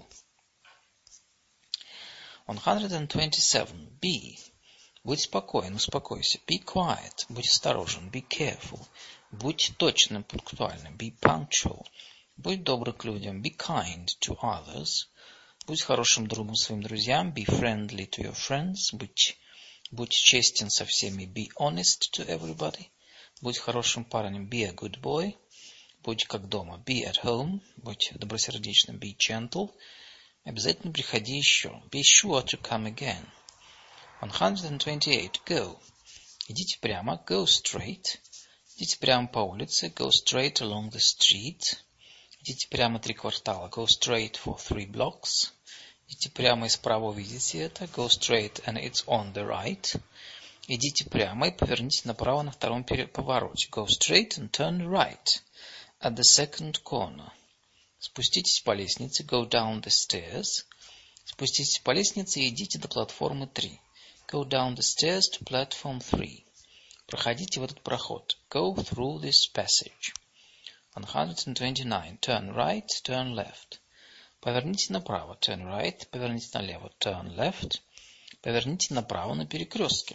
one hundred twenty-seven. Be. Будь спокоен, успокойся. Be quiet. Будь осторожен. Be careful. Будь точным, пунктуальным. Be punctual. Будь добр к людям. Be kind to others. Будь хорошим другом своим друзьям. Be friendly to your friends. Будь, будь честен со всеми. Be honest to everybody. Будь хорошим парнем. Be a good boy. Будь как дома. Be at home. Будь добросердечным. Be gentle. Обязательно приходи еще. Be sure to come again. one hundred twenty-eight. Go. Идите прямо. Go straight. Идите прямо по улице. Go straight along the street. Идите прямо три квартала. Go straight for three blocks. Идите прямо и справа увидите это. Go straight and it's on the right. Идите прямо и поверните направо на втором повороте. Go straight and turn right at the second corner. Спуститесь по лестнице. Go down the stairs. Спуститесь по лестнице и идите до платформы три. Go down the stairs to platform three. Проходите в этот проход. Go through this passage. one hundred twenty-nine. Turn right, turn left. Поверните направо. Turn right. Поверните налево. Turn left. Поверните направо на перекрестке.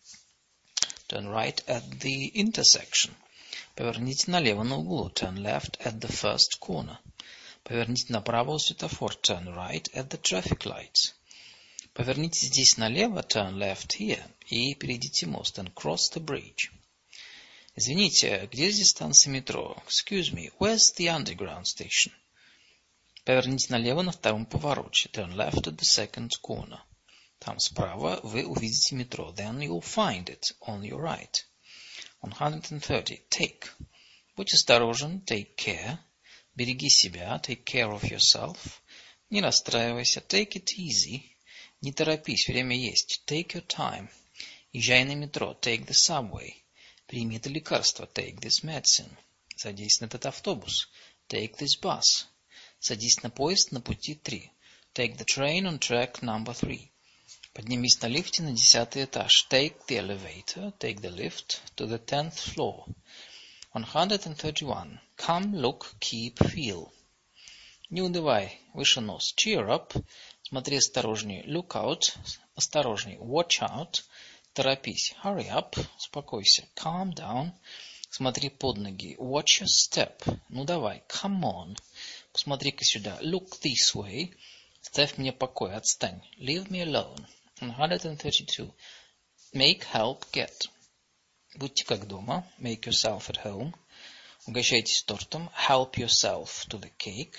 Turn right at the intersection. Поверните налево на углу. Turn left at the first corner. Поверните направо у светофора. Turn right at the traffic lights. Поверните здесь налево. Turn left here. И перейдите мост. And cross the bridge. Извините, где здесь станция метро? Excuse me, where's the underground station? Поверните налево на втором повороте. Turn left at the second corner. Там справа вы увидите метро. Then you'll find it on your right. one hundred thirty. Take. Будь осторожен. Take care. Береги себя. Take care of yourself. Не расстраивайся. Take it easy. Не торопись, время есть. Take your time. Езжай на метро. Take the subway. Прими это лекарство. Take this medicine. Садись на этот автобус. Take this bus. Садись на поезд на пути три. Take the train on track number three. Поднимись на лифте на десятый этаж. Take the elevator. Take the lift to the tenth floor. one hundred thirty-one. Come, look, keep, feel. Не унывай, выше нос. Cheer up. Смотри осторожнее. Look out. Осторожнее. Watch out. Торопись. Hurry up. Успокойся. Calm down. Смотри под ноги. Watch your step. Ну давай. Come on. Посмотри-ка сюда. Look this way. Ставь мне покой. Отстань. Leave me alone. one hundred thirty-two. Make, help, get. Будьте как дома. Make yourself at home. Угощайтесь тортом. Help yourself to the cake.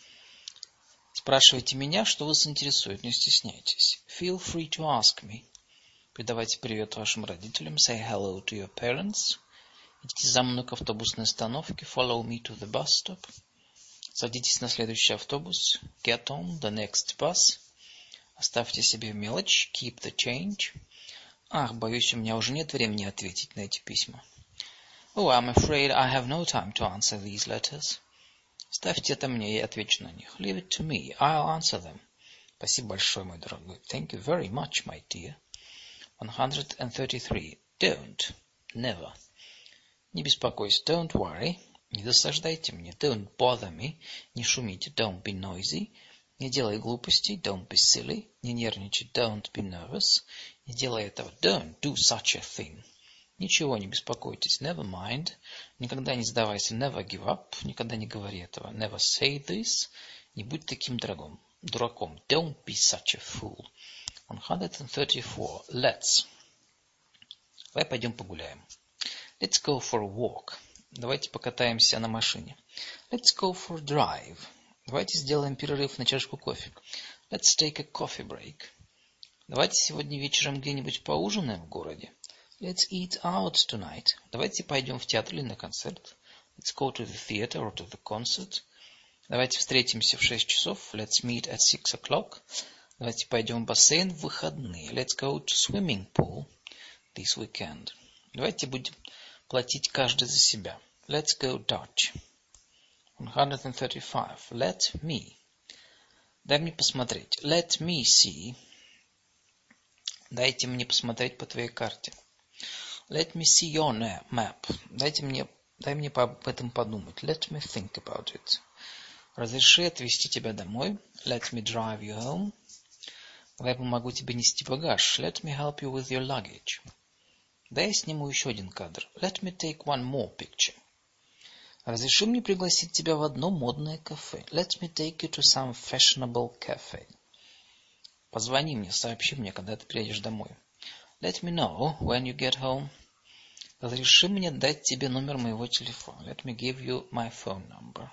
Спрашивайте меня, что вас интересует. Не стесняйтесь. Feel free to ask me. Передавайте привет вашим родителям. Say hello to your parents. Идите за мной к автобусной остановке. Follow me to the bus stop. Садитесь на следующий автобус. Get on the next bus. Оставьте себе мелочь. Keep the change. Ах, боюсь, у меня уже нет времени ответить на эти письма. Oh, I'm afraid I have no time to answer these letters. Ставьте это мне, я отвечу на них. Leave it to me. I'll answer them. Спасибо большое, мой дорогой. Thank you very much, my dear. one hundred thirty-three. Don't. Never. Не беспокойся. Don't worry. Не досаждайте мне. Don't bother me. Не шумите. Don't be noisy. Не делай глупостей. Don't be silly. Не нервничай. Don't be nervous. Не делай этого. Don't do such a thing. Ничего, не беспокойтесь. Never mind. Никогда не сдавайся. Never give up. Никогда не говори этого. Never say this. Не будь таким дураком. Дураком. Don't be such a fool. one hundred thirty-four. Let's. Давай пойдем погуляем. Let's go for a walk. Давайте покатаемся на машине. Let's go for a drive. Давайте сделаем перерыв на чашку кофе. Let's take a coffee break. Давайте сегодня вечером где-нибудь поужинаем в городе. Let's eat out tonight. Давайте пойдем в театр или на концерт. Let's go to the theater or to the concert. Давайте встретимся в шесть часов. Let's meet at six o'clock. Давайте пойдем в бассейн в выходные. Let's go to swimming pool this weekend. Давайте будем платить каждый за себя. Let's go Dutch. one hundred thirty-five. Let me. Дай мне посмотреть. Let me see. Дайте мне посмотреть по твоей карте. Let me see your map. Дайте мне, дай мне об этом подумать. Let me think about it. Разреши отвезти тебя домой. Let me drive you home. Дай я помогу тебе нести багаж. Let me help you with your luggage. Дай я сниму еще один кадр. Let me take one more picture. Разреши мне пригласить тебя в одно модное кафе. Let me take you to some fashionable cafe. Позвони мне, сообщи мне, когда ты приедешь домой. Let me know when you get home. Разреши мне дать тебе номер моего телефона. Let me give you my phone number.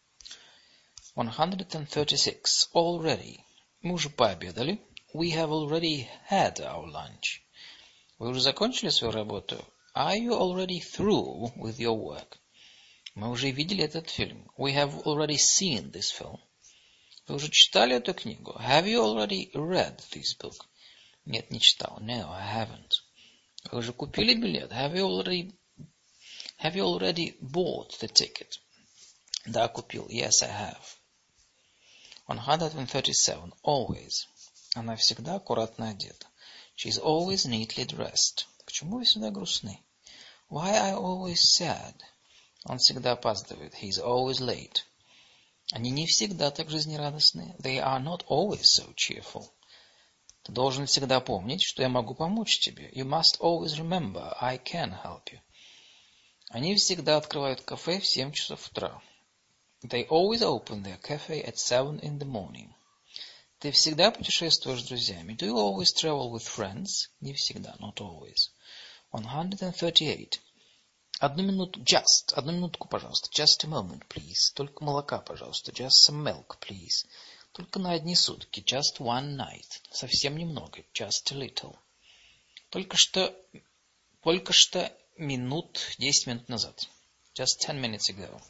one hundred thirty-six. Already. Мы уже пообедали. We have already had our lunch. Вы уже закончили свою работу? Are you already through with your work? Мы уже видели этот фильм. We have already seen this film. Вы уже читали эту книгу? Have you already read this book? Нет, не читал. No, I haven't. Вы уже купили билет? Have you already, have you already bought the ticket? Да, купил. Yes, I have. one hundred thirty-seven. Always. Она всегда аккуратно одета. She is always neatly dressed. Почему вы всегда грустны? Why are you always sad? Он всегда опаздывает. He is always late. Они не всегда так жизнерадостны. They are not always so cheerful. Ты должен всегда помнить, что я могу помочь тебе. You must always remember, I can help you. Они всегда открывают кафе в семь часов утра. They always open their cafe at seven in the morning. Ты всегда путешествуешь с друзьями. Do you always travel with friends? Не всегда, not always. one hundred thirty-eight. Одну минуту, just, одну минутку, пожалуйста. Just a moment, please. Только молока, пожалуйста. Just some milk, please. Только на одни сутки. Just one night. Совсем немного. Just a little. Только что, только что минут, десять минут назад. Just ten minutes ago.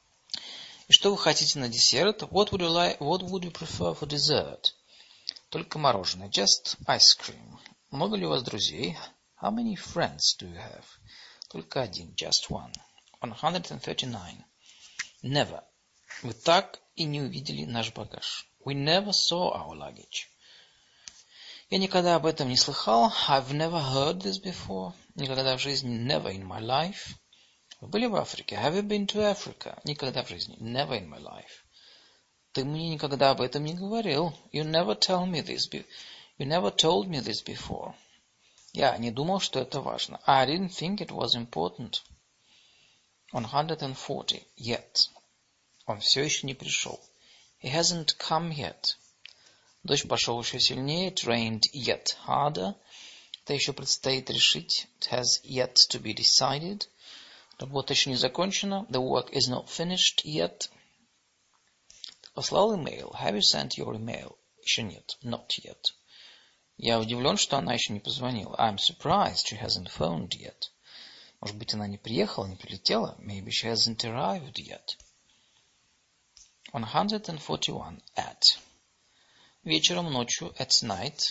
И что вы хотите на десерт? What would you like, what would you prefer for dessert? Только мороженое. Just ice cream. Много ли у вас друзей? How many friends do you have? Только один. Just one. one hundred thirty-nine. Never. Вы так и не увидели наш багаж. We never saw our luggage. Я никогда об этом не слыхал. I've never heard this before. Никогда в жизни. Never in my life. Вы были в Африке? Have you been to Africa? Никогда в жизни. Never in my life. Ты мне никогда об этом не говорил. You never tell me this. Be- you never told me this before. Я не думал, что это важно. I didn't think it was important. one hundred forty. Yet. Он все еще не пришел. He hasn't come yet. Дождь пошел еще сильнее. It rained yet harder. Это еще предстоит решить. It has yet to be decided. Работа еще не закончена. The work is not finished yet. Ты послал имейл? Have you sent your email? Еще нет. Not yet. Я удивлен, что она еще не позвонила. I'm surprised she hasn't phoned yet. Может быть, она не приехала, не прилетела? Maybe she hasn't arrived yet. one hundred forty-one. At. Вечером, ночью, at night.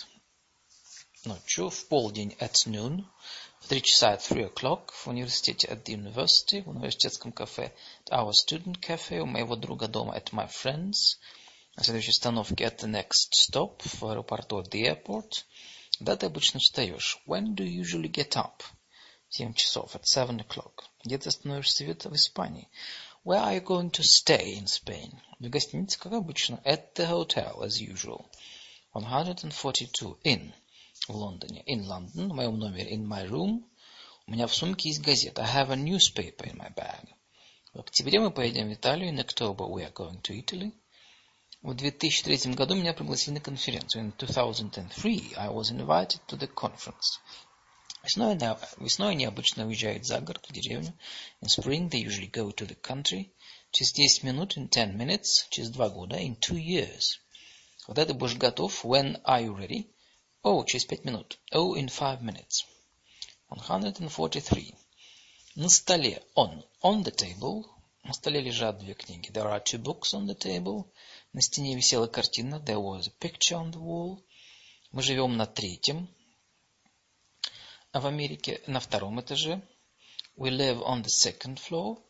Ночью, в полдень, at noon. В три часа, at three o'clock. В университете, at the university. В университетском кафе, at our student cafe. У моего друга дома, at my friends. На следующей остановке, at the next stop. В аэропорту, at the airport. Когда ты обычно встаешь? When do you usually get up? В семь часов, at seven o'clock. Где ты остановишься в Испании? Where are you going to stay in Spain? В гостинице, как обычно. At the hotel, as usual. one hundred forty-two. In. В Лондоне. In London. В моем номере. In my room. У меня в сумке есть газета. I have a newspaper in my bag. В октябре мы поедем в Италию. In October we are going to Italy. В две тысячи третьем году меня пригласили на конференцию. In two thousand three I was invited to the conference. Весной, весной они обычно уезжают за город, в деревню. In spring they usually go to the country. Через десять минут, in ten minutes. Через два года, in two years. Когда ты будешь готов? When are you ready? Oh, через пять минут. Oh, in five minutes. one hundred forty-three. На столе. On. On the table. На столе лежат две книги. There are two books on the table. На стене висела картина. There was a picture on the wall. Мы живем на третьем. А в Америке на втором этаже. We live on the second floor. В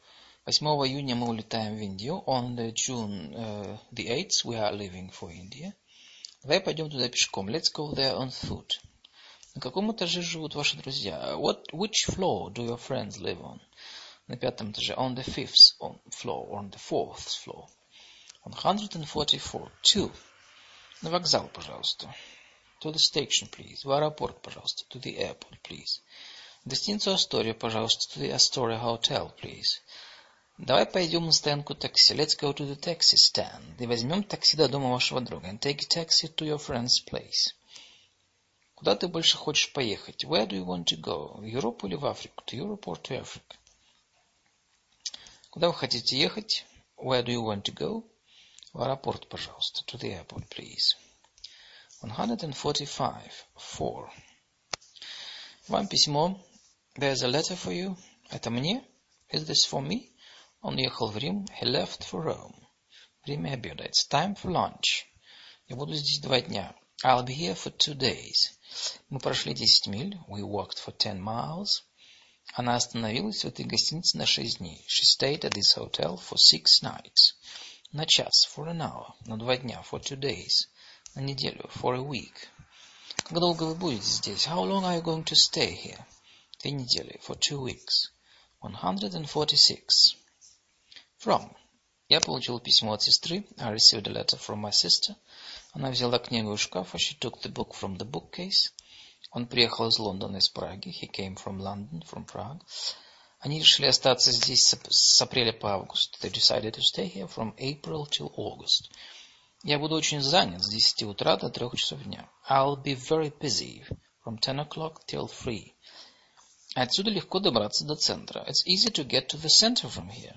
восьмого июня мы улетаем в Индию. On the June uh, the eighth we are leaving for India. Давай пойдем туда пешком. Let's go there on foot. На каком этаже живут ваши друзья? What, which floor do your friends live on? На пятом этаже. On the fifth floor. On the fourth floor. one hundred forty-four. Two. На вокзал, пожалуйста. To the station, please. В аэропорт, пожалуйста. To the airport, please. В гостиницу Астория, пожалуйста. To the Astoria Hotel, please. Давай пойдем на стоянку такси. Let's go to the taxi stand. И возьмем такси до дома вашего друга. And take a taxi to your friend's place. Куда ты больше хочешь поехать? Where do you want to go? В Европу или в Африку? To Europe or to Africa? Куда вы хотите ехать? Where do you want to go? В аэропорт, пожалуйста. To the airport, please. one hundred forty-five. Four. Вам письмо. There's a letter for you. Это мне? Is this for me? Он ехал в Рим. He left for Rome. Время обеда. It's time for lunch. Я буду здесь два дня. I'll be here for two days. Мы прошли десять миль. We walked for ten miles. Она остановилась в этой гостинице на шесть дней. She stayed at this hotel for six nights. На час. For an hour. На два дня. For two days. На неделю. For a week. Как долго вы будете здесь? How long are you going to stay here? Две недели. For two weeks. one hundred forty-six. From. Я получил письмо от сестры. I received a letter from my sister. Она взяла книгу из шкафа. She took the book from the bookcase. Он приехал из Лондона, из Праги. He came from London, from Prague. Они решили остаться здесь с, с апреля по август. They decided to stay here from April till August. Я буду очень занят с десяти утра до трех часов дня. I'll be very busy from ten o'clock till three. Отсюда легко добраться до центра. It's easy to get to the center from here.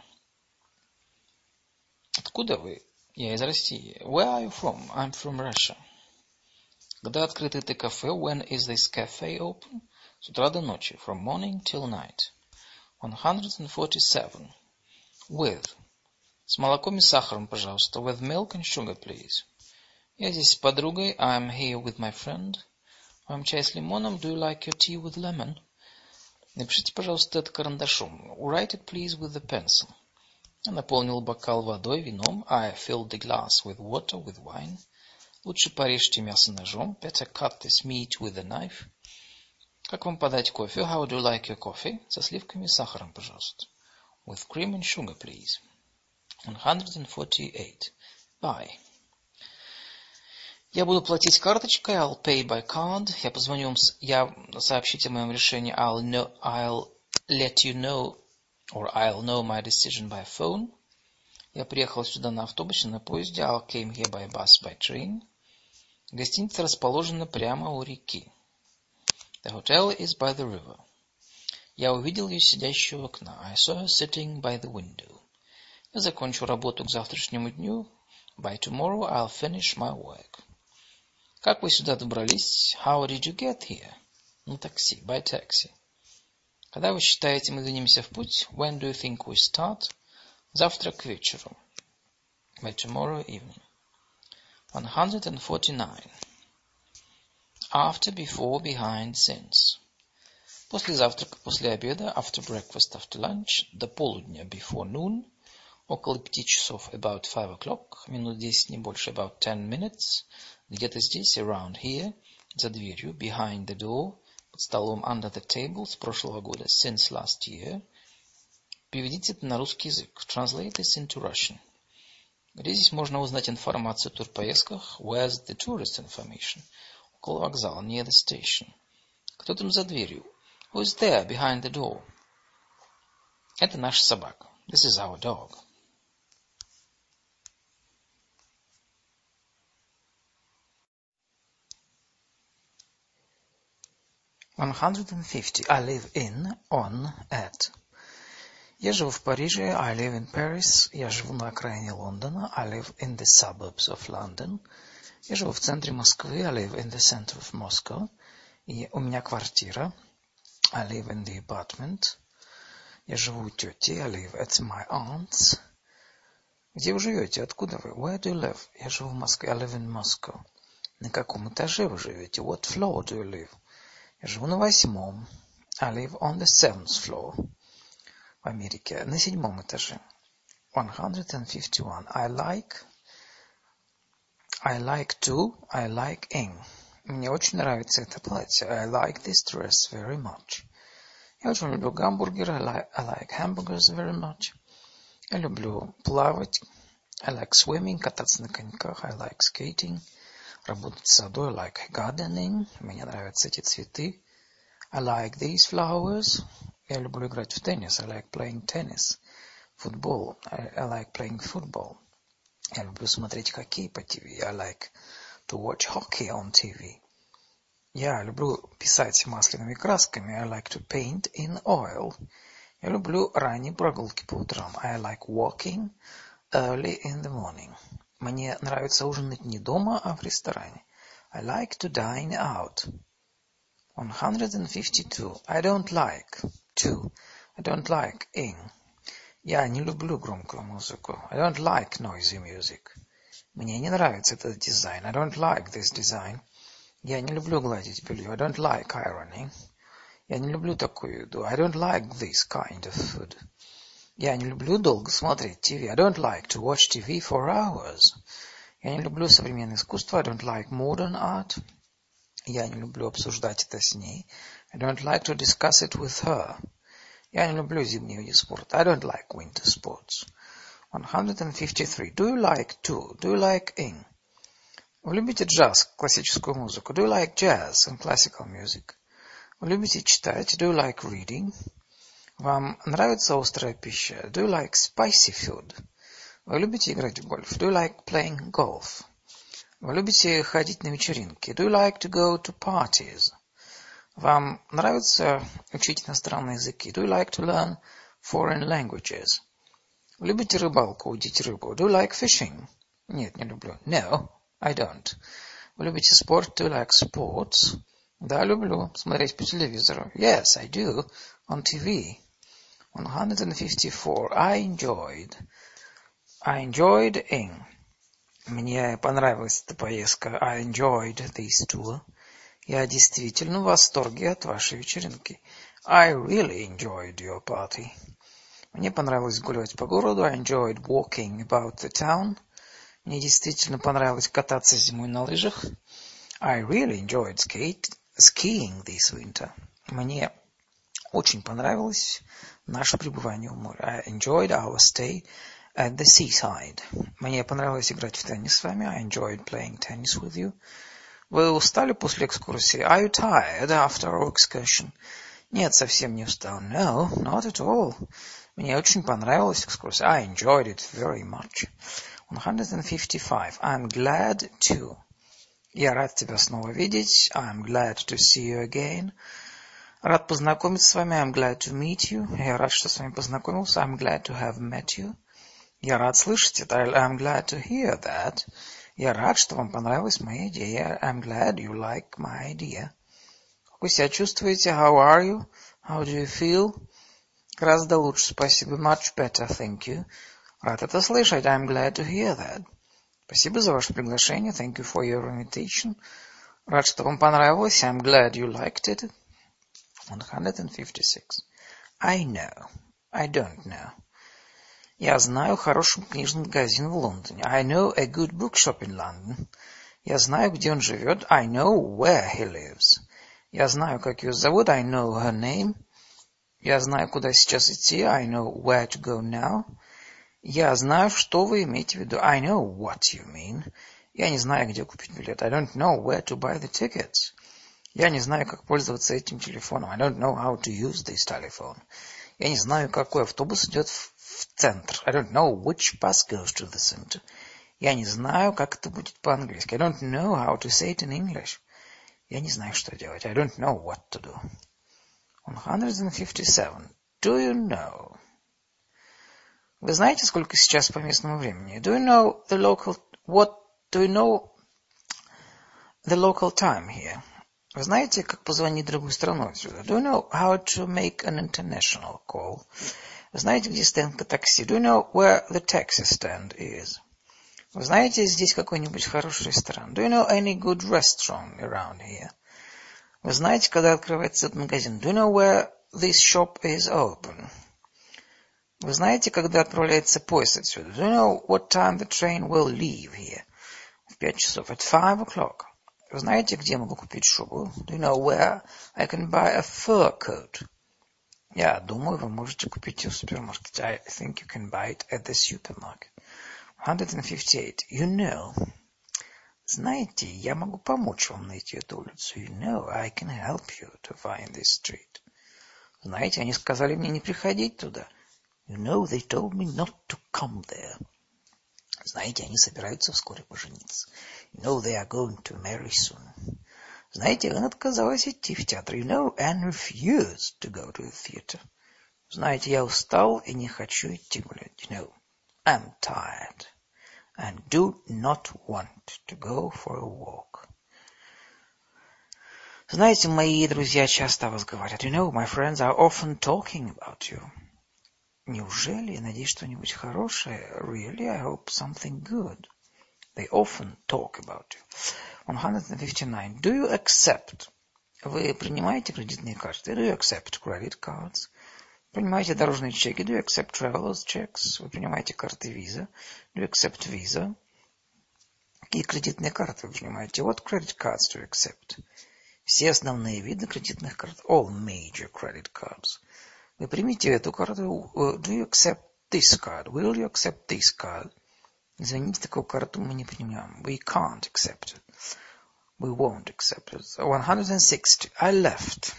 Откуда вы? Я из России. Where are you from? I'm from Russia. Когда открыто это кафе? When is this cafe open? С утра до ночи. From morning till night. one hundred forty-seven. With. С молоком и сахаром, пожалуйста. With milk and sugar, please. Я здесь с подругой. I'm here with my friend. Вам чай с лимоном? Do you like your tea with lemon? Напишите, пожалуйста, это карандашом. Write it, please, with the pencil. Я наполнил бокал водой, вином. I filled the glass with water, with wine. Лучше порежьте мясо ножом. Better cut this meat with a knife. Как вам подать кофе? How do you like your coffee? Со сливками и сахаром, пожалуйста. With cream and sugar, please. one hundred forty-eight. Buy. Я буду платить карточкой. I'll pay by card. Я позвоню вам, я сообщите о моем решении. I'll know, I'll let you know, or I'll know my decision by phone. Я приехал сюда на автобусе, на поезде. I came here by bus, by train. Гостиница расположена прямо у реки. The hotel is by the river. Я увидел ее сидящую у окна. I saw her sitting by the window. Я закончу работу к завтрашнему дню. By tomorrow I'll finish my work. Как вы сюда добрались? How did you get here? На такси, by taxi. Когда вы считаете, мы двинемся в путь? When do you think we start? Завтра к вечеру. By tomorrow evening. one hundred forty-nine. After, before, behind, since. После завтрака, после обеда. After breakfast, after lunch. До полудня, before noon. Около пяти часов, about five o'clock. Минут десять, не больше, about ten minutes. Где-то здесь, around here. За дверью, behind the door. Под столом, under the table. С прошлого года, since last year. Переведите это на русский язык. Translate this into Russian. Где здесь можно узнать информацию о турпоездках? Where's the tourist information? Около вокзала, near the station. Кто там за дверью? Who is there behind the door? Это наша собака. This is our dog. one hundred fifty. I live in, on, at. Я живу в Париже. I live in Paris. Я живу на окраине Лондона. I live in the suburbs of London. Я живу в центре Москвы. I live in the center of Moscow. И у меня квартира. I live in the apartment. Я живу у тети. I live at my aunt's. Где вы живете? Откуда вы? Where do you live? Я живу в Москве. I live in Moscow. На каком этаже вы живете? What floor do you live? Я живу на восьмом. I live on the seventh floor. в Америке, на седьмом этаже. one hundred fifty-one. I like, I like to, I like ing. Мне очень нравится это платье. I like this dress very much. Я очень люблю гамбургеры. I like, I like hamburgers very much. Я люблю плавать. I like swimming, кататься на коньках. I like skating. Работать в саду. I like gardening. Мне нравятся эти цветы. I like these flowers. Я люблю играть в теннис. I like playing tennis. Футбол. I, I like playing football. Я люблю смотреть хоккей по ТВ. I like to watch hockey on T V. Я люблю писать масляными красками. I like to paint in oil. Я люблю ранние прогулки по утрам. I like walking early in the morning. Мне нравится ужинать не дома, а в ресторане. I like to dine out. one hundred fifty-two. I don't like to. I don't like ing. Я не люблю громкую музыку. I don't like noisy music. Мне не нравится этот дизайн. I don't like this design. Я не люблю гладить белье. I don't like ironing. Я не люблю такую еду. I don't like this kind of food. Я не люблю долго смотреть ТВ. I don't like to watch T V for hours. Я не люблю современное искусство. I don't like modern art. Я не люблю обсуждать это с ней. I don't like to discuss it with her. Я не люблю зимние виды спорта. I don't like winter sports. one hundred fifty-three. Do you like to? Do you like ing? Вы любите джаз, классическую музыку? Do you like jazz and classical music? Вы любите читать? Do you like reading? Вам нравится острая пища? Do you like spicy food? Вы любите играть в гольф? Do you like playing golf? Вы любите ходить на вечеринки? Do you like to go to parties? Вам нравится учить иностранные языки? Do you like to learn foreign languages? Вы любите рыбалку, удить рыбу? Do you like fishing? Нет, не люблю. No, I don't. Вы любите спорт? Do you like sports? Да, люблю. Смотреть по телевизору. Yes, I do. On T V. one hundred fifty-four. I enjoyed. I enjoyed ing. Мне понравилась эта поездка. I enjoyed this tour. Я действительно в восторге от вашей вечеринки. I really enjoyed your party. Мне понравилось гулять по городу. I enjoyed walking about the town. Мне действительно понравилось кататься зимой на лыжах. I really enjoyed skate, skiing this winter. Мне очень понравилось наше пребывание у моря. I enjoyed our stay at the seaside. Мне понравилось играть в теннис с вами. I enjoyed playing tennis with you. Вы устали после экскурсии? Are you tired after our excursion? Нет, совсем не устал. No, not at all. Мне очень понравилась экскурсия. I enjoyed it very much. one hundred fifty-five. I'm glad to. Я рад тебя снова видеть. I'm glad to see you again. Рад познакомиться с вами. I'm glad to meet you. Я рад, что с вами познакомился. I'm glad to have met you. Я рад слышать это. I'm glad to hear that. Я рад, что вам понравилась моя идея. I'm glad you like my idea. Как вы себя чувствуете? How are you? How do you feel? Гораздо лучше, спасибо. Much better, thank you. Рад это слышать. I'm glad to hear that. Спасибо за ваше приглашение. Thank you for your invitation. Рад, что вам понравилось. I'm glad you liked it. one hundred fifty-six. I know. I don't know. Я знаю хороший книжный магазин в Лондоне. I know a good bookshop in London. Я знаю, где он живет. I know where he lives. Я знаю, как ее зовут. I know her name. Я знаю, куда сейчас идти. I know where to go now. Я знаю, что вы имеете в виду. I know what you mean. Я не знаю, где купить билет. I don't know where to buy the tickets. Я не знаю, как пользоваться этим телефоном. I don't know how to use this telephone. Я не знаю, какой автобус идет в, в центр. I don't know which bus goes to the center. Я не знаю, как это будет по-английски. I don't know how to say it in English. Я не знаю, что делать. I don't know what to do. one hundred fifty-seven. Do you know? Вы знаете, сколько сейчас по местному времени? Do you know the local... What... Do you know the local time here? Вы знаете, как позвонить в другую страну отсюда? Do you know how to make an international call? Вы знаете, где стоянка такси? Do you know where the taxi stand is? Вы знаете, здесь какой-нибудь хороший ресторан? Do you know any good restaurant around here? Вы знаете, когда открывается этот магазин? Do you know where this shop is open? Вы знаете, когда отправляется поезд отсюда? Do you know what time the train will leave here? В пять часов. At five o'clock. Вы знаете, где я могу купить шубу? Do you know where I can buy a fur coat? Я думаю, вы можете купить ее в супермаркете. I think you can buy it at the supermarket. one hundred fifty-eight. You know. Знаете, я могу помочь вам найти эту улицу. You know, I can help you to find this street. Знаете, они сказали мне не приходить туда. You know, they told me not to come there. Знаете, они собираются вскоре пожениться. You know, they are going to marry soon. Знаете, Энн отказалась идти в театр. You know, Anne refused to go to the theater. Знаете, я устал и не хочу идти гулять. You know, I'm tired and do not want to go for a walk. Знаете, мои друзья часто о вас говорят. You know, my friends are often talking about you. Неужели? Я надеюсь, что-нибудь хорошее. Really, I hope something good. They often talk about you. one hundred fifty-nine. Do you accept? Вы принимаете кредитные карты? Do you accept credit cards? Принимаете дорожные чеки? Do you accept traveler's checks? Вы принимаете карты Visa? Do you accept Visa? Какие кредитные карты вы принимаете? What credit cards do you accept? Все основные виды кредитных карт. All major credit cards. Вы примите эту карту. Do you accept this card? Will you accept this card? Извините, такую карту мы не принимаем. We can't accept it. We won't accept it. one hundred sixty. I left.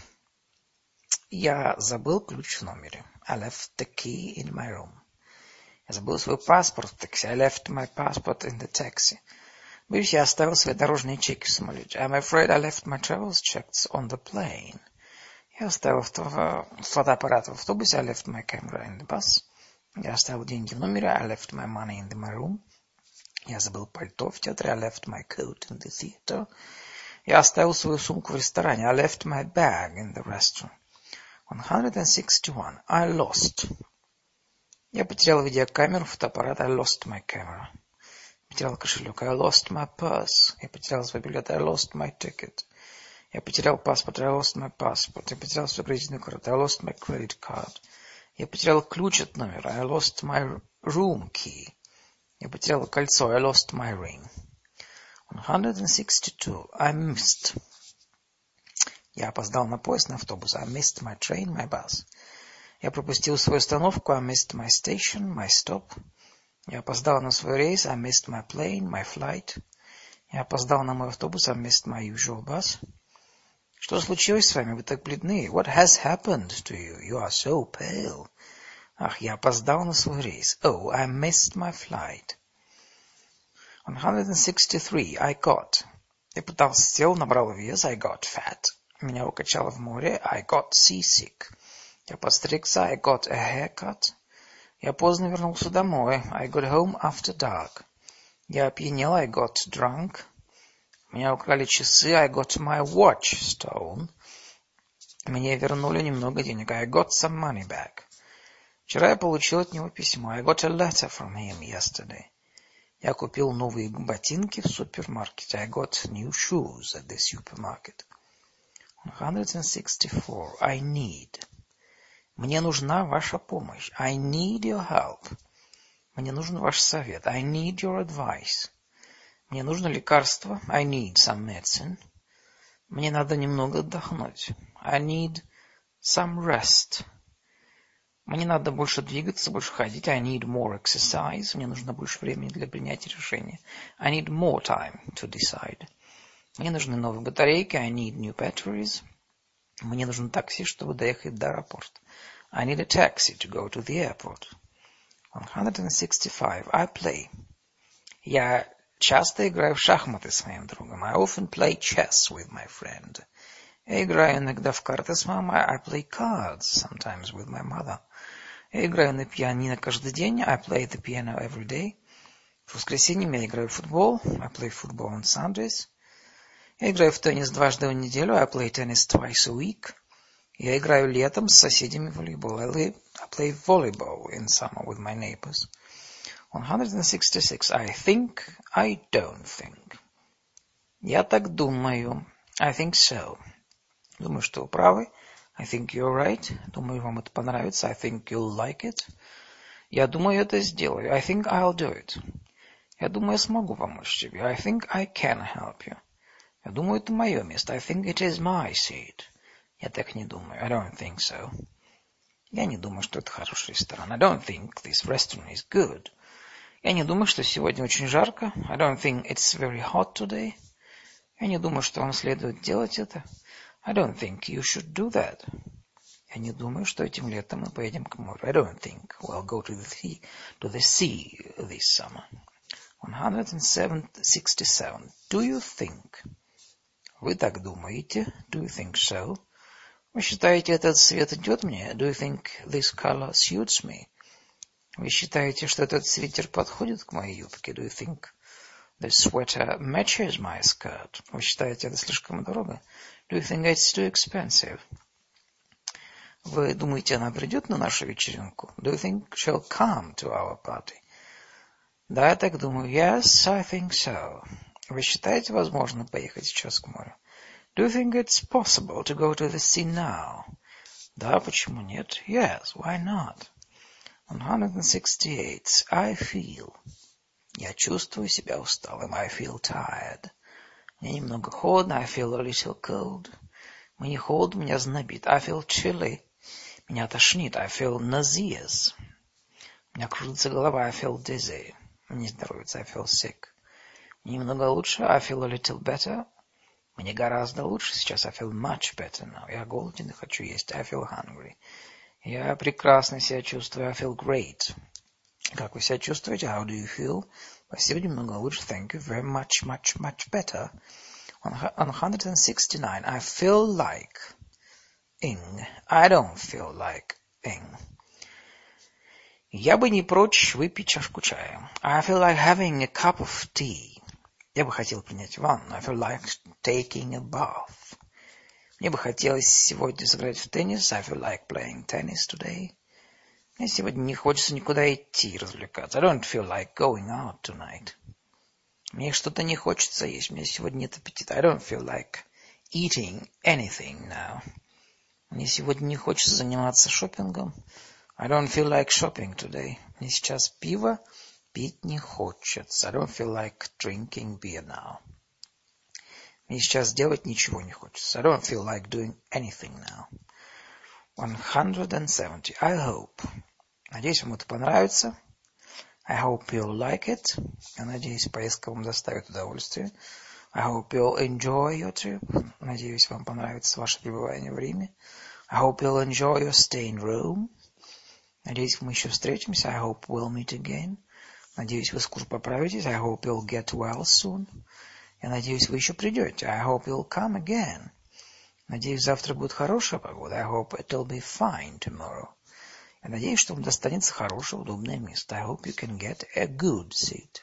Я забыл ключ в номере. I left the key in my room. Я забыл свой паспорт в такси. I left my passport in the taxi. Боюсь, я оставил свои дорожные чеки в самолете. I'm afraid I left my travel's checks on the plane. Я оставил фотоаппарат в автобусе. I left my camera in the bus. Я оставил деньги в номере. I left my money in my room. Я забыл пальто в театре. I left my coat in the theater. Я оставил свою сумку в ресторане. I left my bag in the restaurant. one hundred sixty-one. I lost. Я потерял видеокамеру, фотоаппарат. I lost my camera. Потерял кошелек. I lost my purse. Я потерял свой билет. I lost my ticket. Я потерял паспорт. I lost my passport. Я потерял свою кредитную карту. I lost my credit card. Я потерял ключ от номера. I lost my room key. Я потерял кольцо. I lost my ring. one hundred sixty-two. I missed. Я опоздал на поезд, на автобус. I missed my train, my bus. Я пропустил свою остановку. I missed my station, my stop. Я опоздал на свой рейс. I missed my plane, my flight. Я опоздал на мой автобус. I missed my usual bus. Что случилось с вами? Вы так бледны. What has happened to you? You are so pale. Ах, я опоздал на свой рейс. Oh, I missed my flight. one hundred sixty-three. I got. Я пытался, сел, набрал вес. I got fat. Меня укачало в море. I got seasick. Я подстригся. I got a haircut. Я поздно вернулся домой. I got home after dark. Я опьянел. I got drunk. Меня украли часы. I got my watch stolen. Мне вернули немного денег. I got some money back. Вчера я получил от него письмо. I got a letter from him yesterday. Я купил новые ботинки в супермаркете. I got new shoes at the supermarket. one hundred sixty-four. I need. Мне нужна ваша помощь. I need your help. Мне нужен ваш совет. I need your advice. Мне нужно лекарство. I need some medicine. Мне надо немного отдохнуть. I need some rest. Мне надо больше двигаться, больше ходить. I need more exercise. Мне нужно больше времени для принятия решения. I need more time to decide. Мне нужны новые батарейки. I need new batteries. Мне нужен такси, чтобы доехать до аэропорта. I need a taxi to go to the airport. one hundred sixty-five. I play. Я часто играю в шахматы с моим другом. I often play chess with my friend. Я играю иногда в карты с мамой. I play cards sometimes with my mother. Я играю на пианино каждый день. I play the piano every day. В воскресенье я играю в футбол. I play football on Sundays. Я играю в теннис дважды в неделю. I play tennis twice a week. Я играю летом с соседями в волейбол. I, live, I play volleyball in summer with my neighbors. one hundred sixty-six. I think, I don't think. Я так думаю. I think so. Думаю, что вы правы. I think you're right. Думаю, вам это понравится. I think you'll like it. Я думаю, это сделаю. I think I'll do it. Я думаю, я смогу помочь тебе. I think I can help you. Я думаю, это мое место. I think it is my seat. Я так не думаю. I don't think so. Я не думаю, что это хороший ресторан. I don't think this restaurant is good. Я не думаю, что сегодня очень жарко. I don't think it's very hot today. Я не думаю, что вам следует делать это. I don't think you should do that. Я не думаю, что этим летом мы поедем к морю. I don't think we'll go to the sea, to the sea this summer. one sixty-seven. Do you think? Вы так думаете? Do you think so? Вы считаете, этот цвет идет мне? Do you think this color suits me? Вы считаете, что этот свитер подходит к моей юбке? Do you think the sweater matches my skirt? Вы считаете, это слишком дорого? Do you think it's too expensive? Вы думаете, она придет на нашу вечеринку? Do you think she'll come to our party? Да, я так думаю. Yes, I think so. Вы считаете, возможно поехать сейчас к морю? Do you think it's possible to go to the sea now? Да, почему нет? Yes, why not? one sixty-eight. I feel. Я чувствую себя усталым. I feel tired. Мне немного холодно. I feel a little cold. Мне холодно, меня знобит. I feel chilly. Меня тошнит. I feel nauseous. У меня кружится голова. I feel dizzy. Мне здоровится. I feel sick. Мне немного лучше. I feel a little better. Мне гораздо лучше сейчас. I feel much better now. Я голоден и хочу есть. I feel hungry. Я прекрасно себя чувствую. I feel great. Как вы себя чувствуете? How do you feel? Спасибо, немного лучше. Thank you very much, much, much better. one sixty-nine. I feel like ing. I don't feel like ing. Я бы не прочь выпить чашку чая. I feel like having a cup of tea. Я бы хотел принять ванну. I feel like taking a bath. Мне бы хотелось сегодня сыграть в теннис. I feel like playing tennis today. Мне сегодня не хочется никуда идти и развлекаться. I don't feel like going out tonight. Мне что-то не хочется есть. Мне сегодня нет аппетита. I don't feel like eating anything now. Мне сегодня не хочется заниматься шопингом. I don't feel like shopping today. Мне сейчас пиво пить не хочется. I don't feel like drinking beer now. Мне сейчас делать ничего не хочется. I don't feel like doing anything now. one seventy. I hope. Надеюсь, вам это понравится. I hope you'll like it. Я надеюсь, поездка вам доставит удовольствие. I hope you'll enjoy your trip. Надеюсь, вам понравится ваше пребывание в Риме. I hope you'll enjoy your stay in Rome. Надеюсь, мы еще встретимся. I hope we'll meet again. Надеюсь, вы скоро поправитесь. I hope you'll get well soon. Я надеюсь, вы еще придете. I hope you'll come again. Надеюсь, завтра будет хорошая погода. I hope it'll be fine tomorrow. Я надеюсь, что вам достанется хорошее, удобное место. I hope you can get a good seat.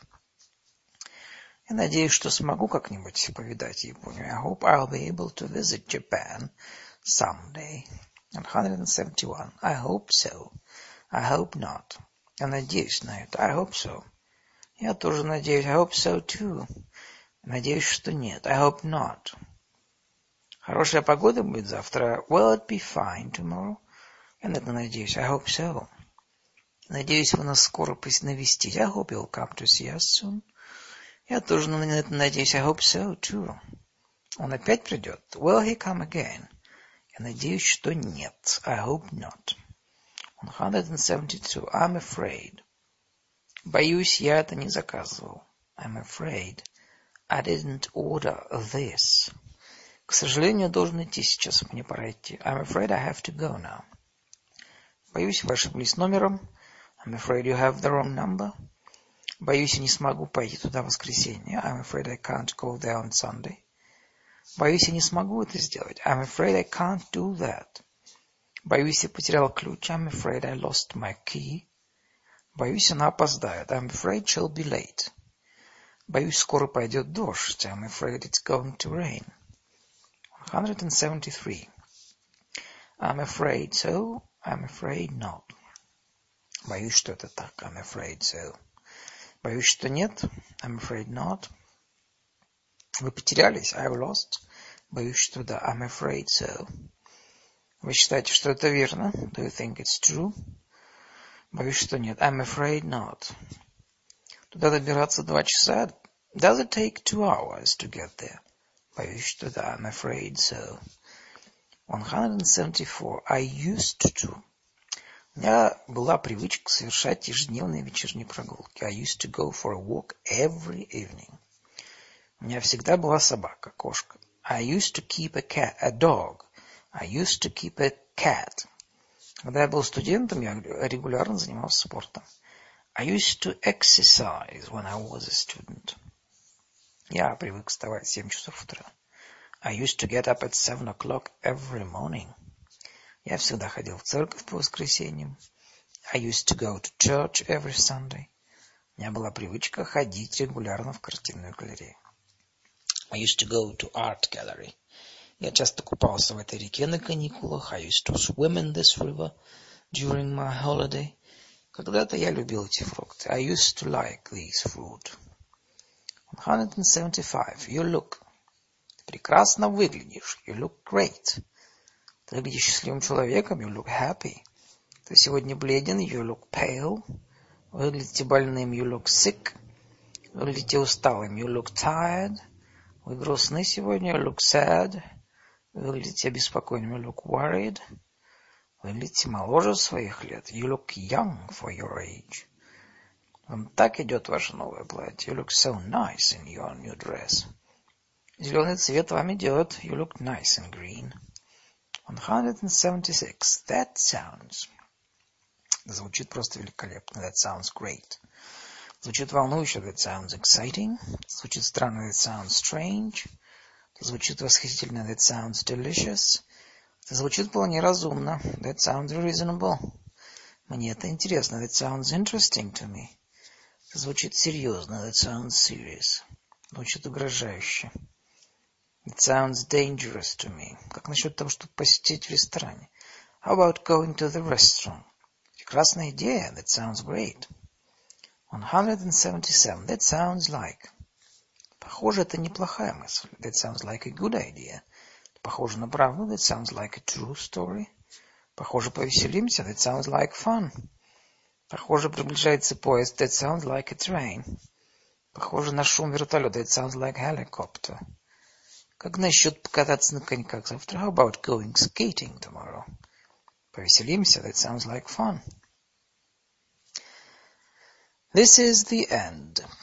Я надеюсь, что смогу как-нибудь повидать Японию. I hope I'll be able to visit Japan someday. one seventy-one. I hope so. I hope not. Я надеюсь на это. I hope so. Я тоже надеюсь. I hope so too. Надеюсь, что нет. I hope not. Хорошая погода будет завтра. Will it be fine tomorrow? Я на это надеюсь. I hope so. Надеюсь, вы нас скоро навестите. I hope you'll come to see us soon. Я тоже на это надеюсь. I hope so too. Он опять придет? Will he come again? Я надеюсь, что нет. I hope not. one seventy-two. I'm afraid. Боюсь, я это не заказывал. I'm afraid. I didn't order this. К сожалению, я должен идти сейчас. Мне пора идти. I'm afraid I have to go now. Боюсь, вы ошиблись номером. I'm afraid you have the wrong number. Боюсь, я не смогу пойти туда в воскресенье. I'm afraid I can't go there on Sunday. Боюсь, я не смогу это сделать. I'm afraid I can't do that. Боюсь, я потерял ключ. I'm afraid I lost my key. Боюсь, она опоздает. I'm afraid she'll be late. Боюсь, скоро пойдет дождь. I'm afraid it's going to rain. one seventy-three. I'm afraid so. I'm afraid not. Боюсь, что это так. I'm afraid so. Боюсь, что нет. I'm afraid not. Вы потерялись. I've lost. Боюсь, что да. I'm afraid so. Вы считаете, что это верно? Do you think it's true? Боюсь, что нет. I'm afraid not. Туда добираться два часа. Does it take two hours to get there? Боюсь, что да. I'm afraid so. one hundred seventy-four. I used to. У меня была привычка совершать ежедневные вечерние прогулки. I used to go for a walk every evening. У меня всегда была собака, кошка. I used to keep a cat, a dog. I used to keep a cat. Когда я был студентом, я регулярно занимался спортом. I used to exercise when I was a student. Я привык вставать в семь часов утра. I used to get up at seven o'clock every morning. Я всегда ходил в церковь по воскресеньям. I used to go to church every Sunday. У меня была привычка ходить регулярно в картинную галерею. I used to go to art gallery. Я часто купался в этой реке на каникулах. I used to swim in this river during my holiday. Когда-то я любил эти фрукты. I used to like these fruit. one hundred seventy-five. You look. Ты прекрасно выглядишь. You look great. Ты выглядишь счастливым человеком. You look happy. Ты сегодня бледен. You look pale. Вы выглядите больным. You look sick. Вы выглядите усталым. You look tired. Вы грустны сегодня. You look sad. Вы выглядите обеспокоенным. You look worried. Вы выглядите моложе своих лет. You look young for your age. Вам так идет ваше новое платье. You look so nice in your new dress. Зеленый цвет вам идет. You look nice in green. one hundred seventy-six. That sounds. Звучит просто великолепно. That sounds great. Звучит волнующе. That sounds exciting. Звучит странно. That sounds strange. Звучит восхитительно. That sounds delicious. Это звучит вполне разумно. That sounds reasonable. Мне это интересно. That sounds interesting to me. Это звучит серьезно. That sounds serious. Звучит угрожающе. It sounds dangerous to me. Как насчет того, чтобы посетить в ресторане? How about going to the restaurant? Прекрасная идея. That sounds great. one hundred seventy-seven. That sounds like. Похоже, это неплохая мысль. That sounds like a good idea. Похоже на правду. That sounds like a true story. Похоже, повеселимся. That sounds like fun. Похоже, приближается поезд. That sounds like a train. Похоже на шум вертолета. That sounds like a helicopter. Как насчет покататься на коньках завтра? How about going skating tomorrow? Повеселимся. That sounds like fun. This is the end.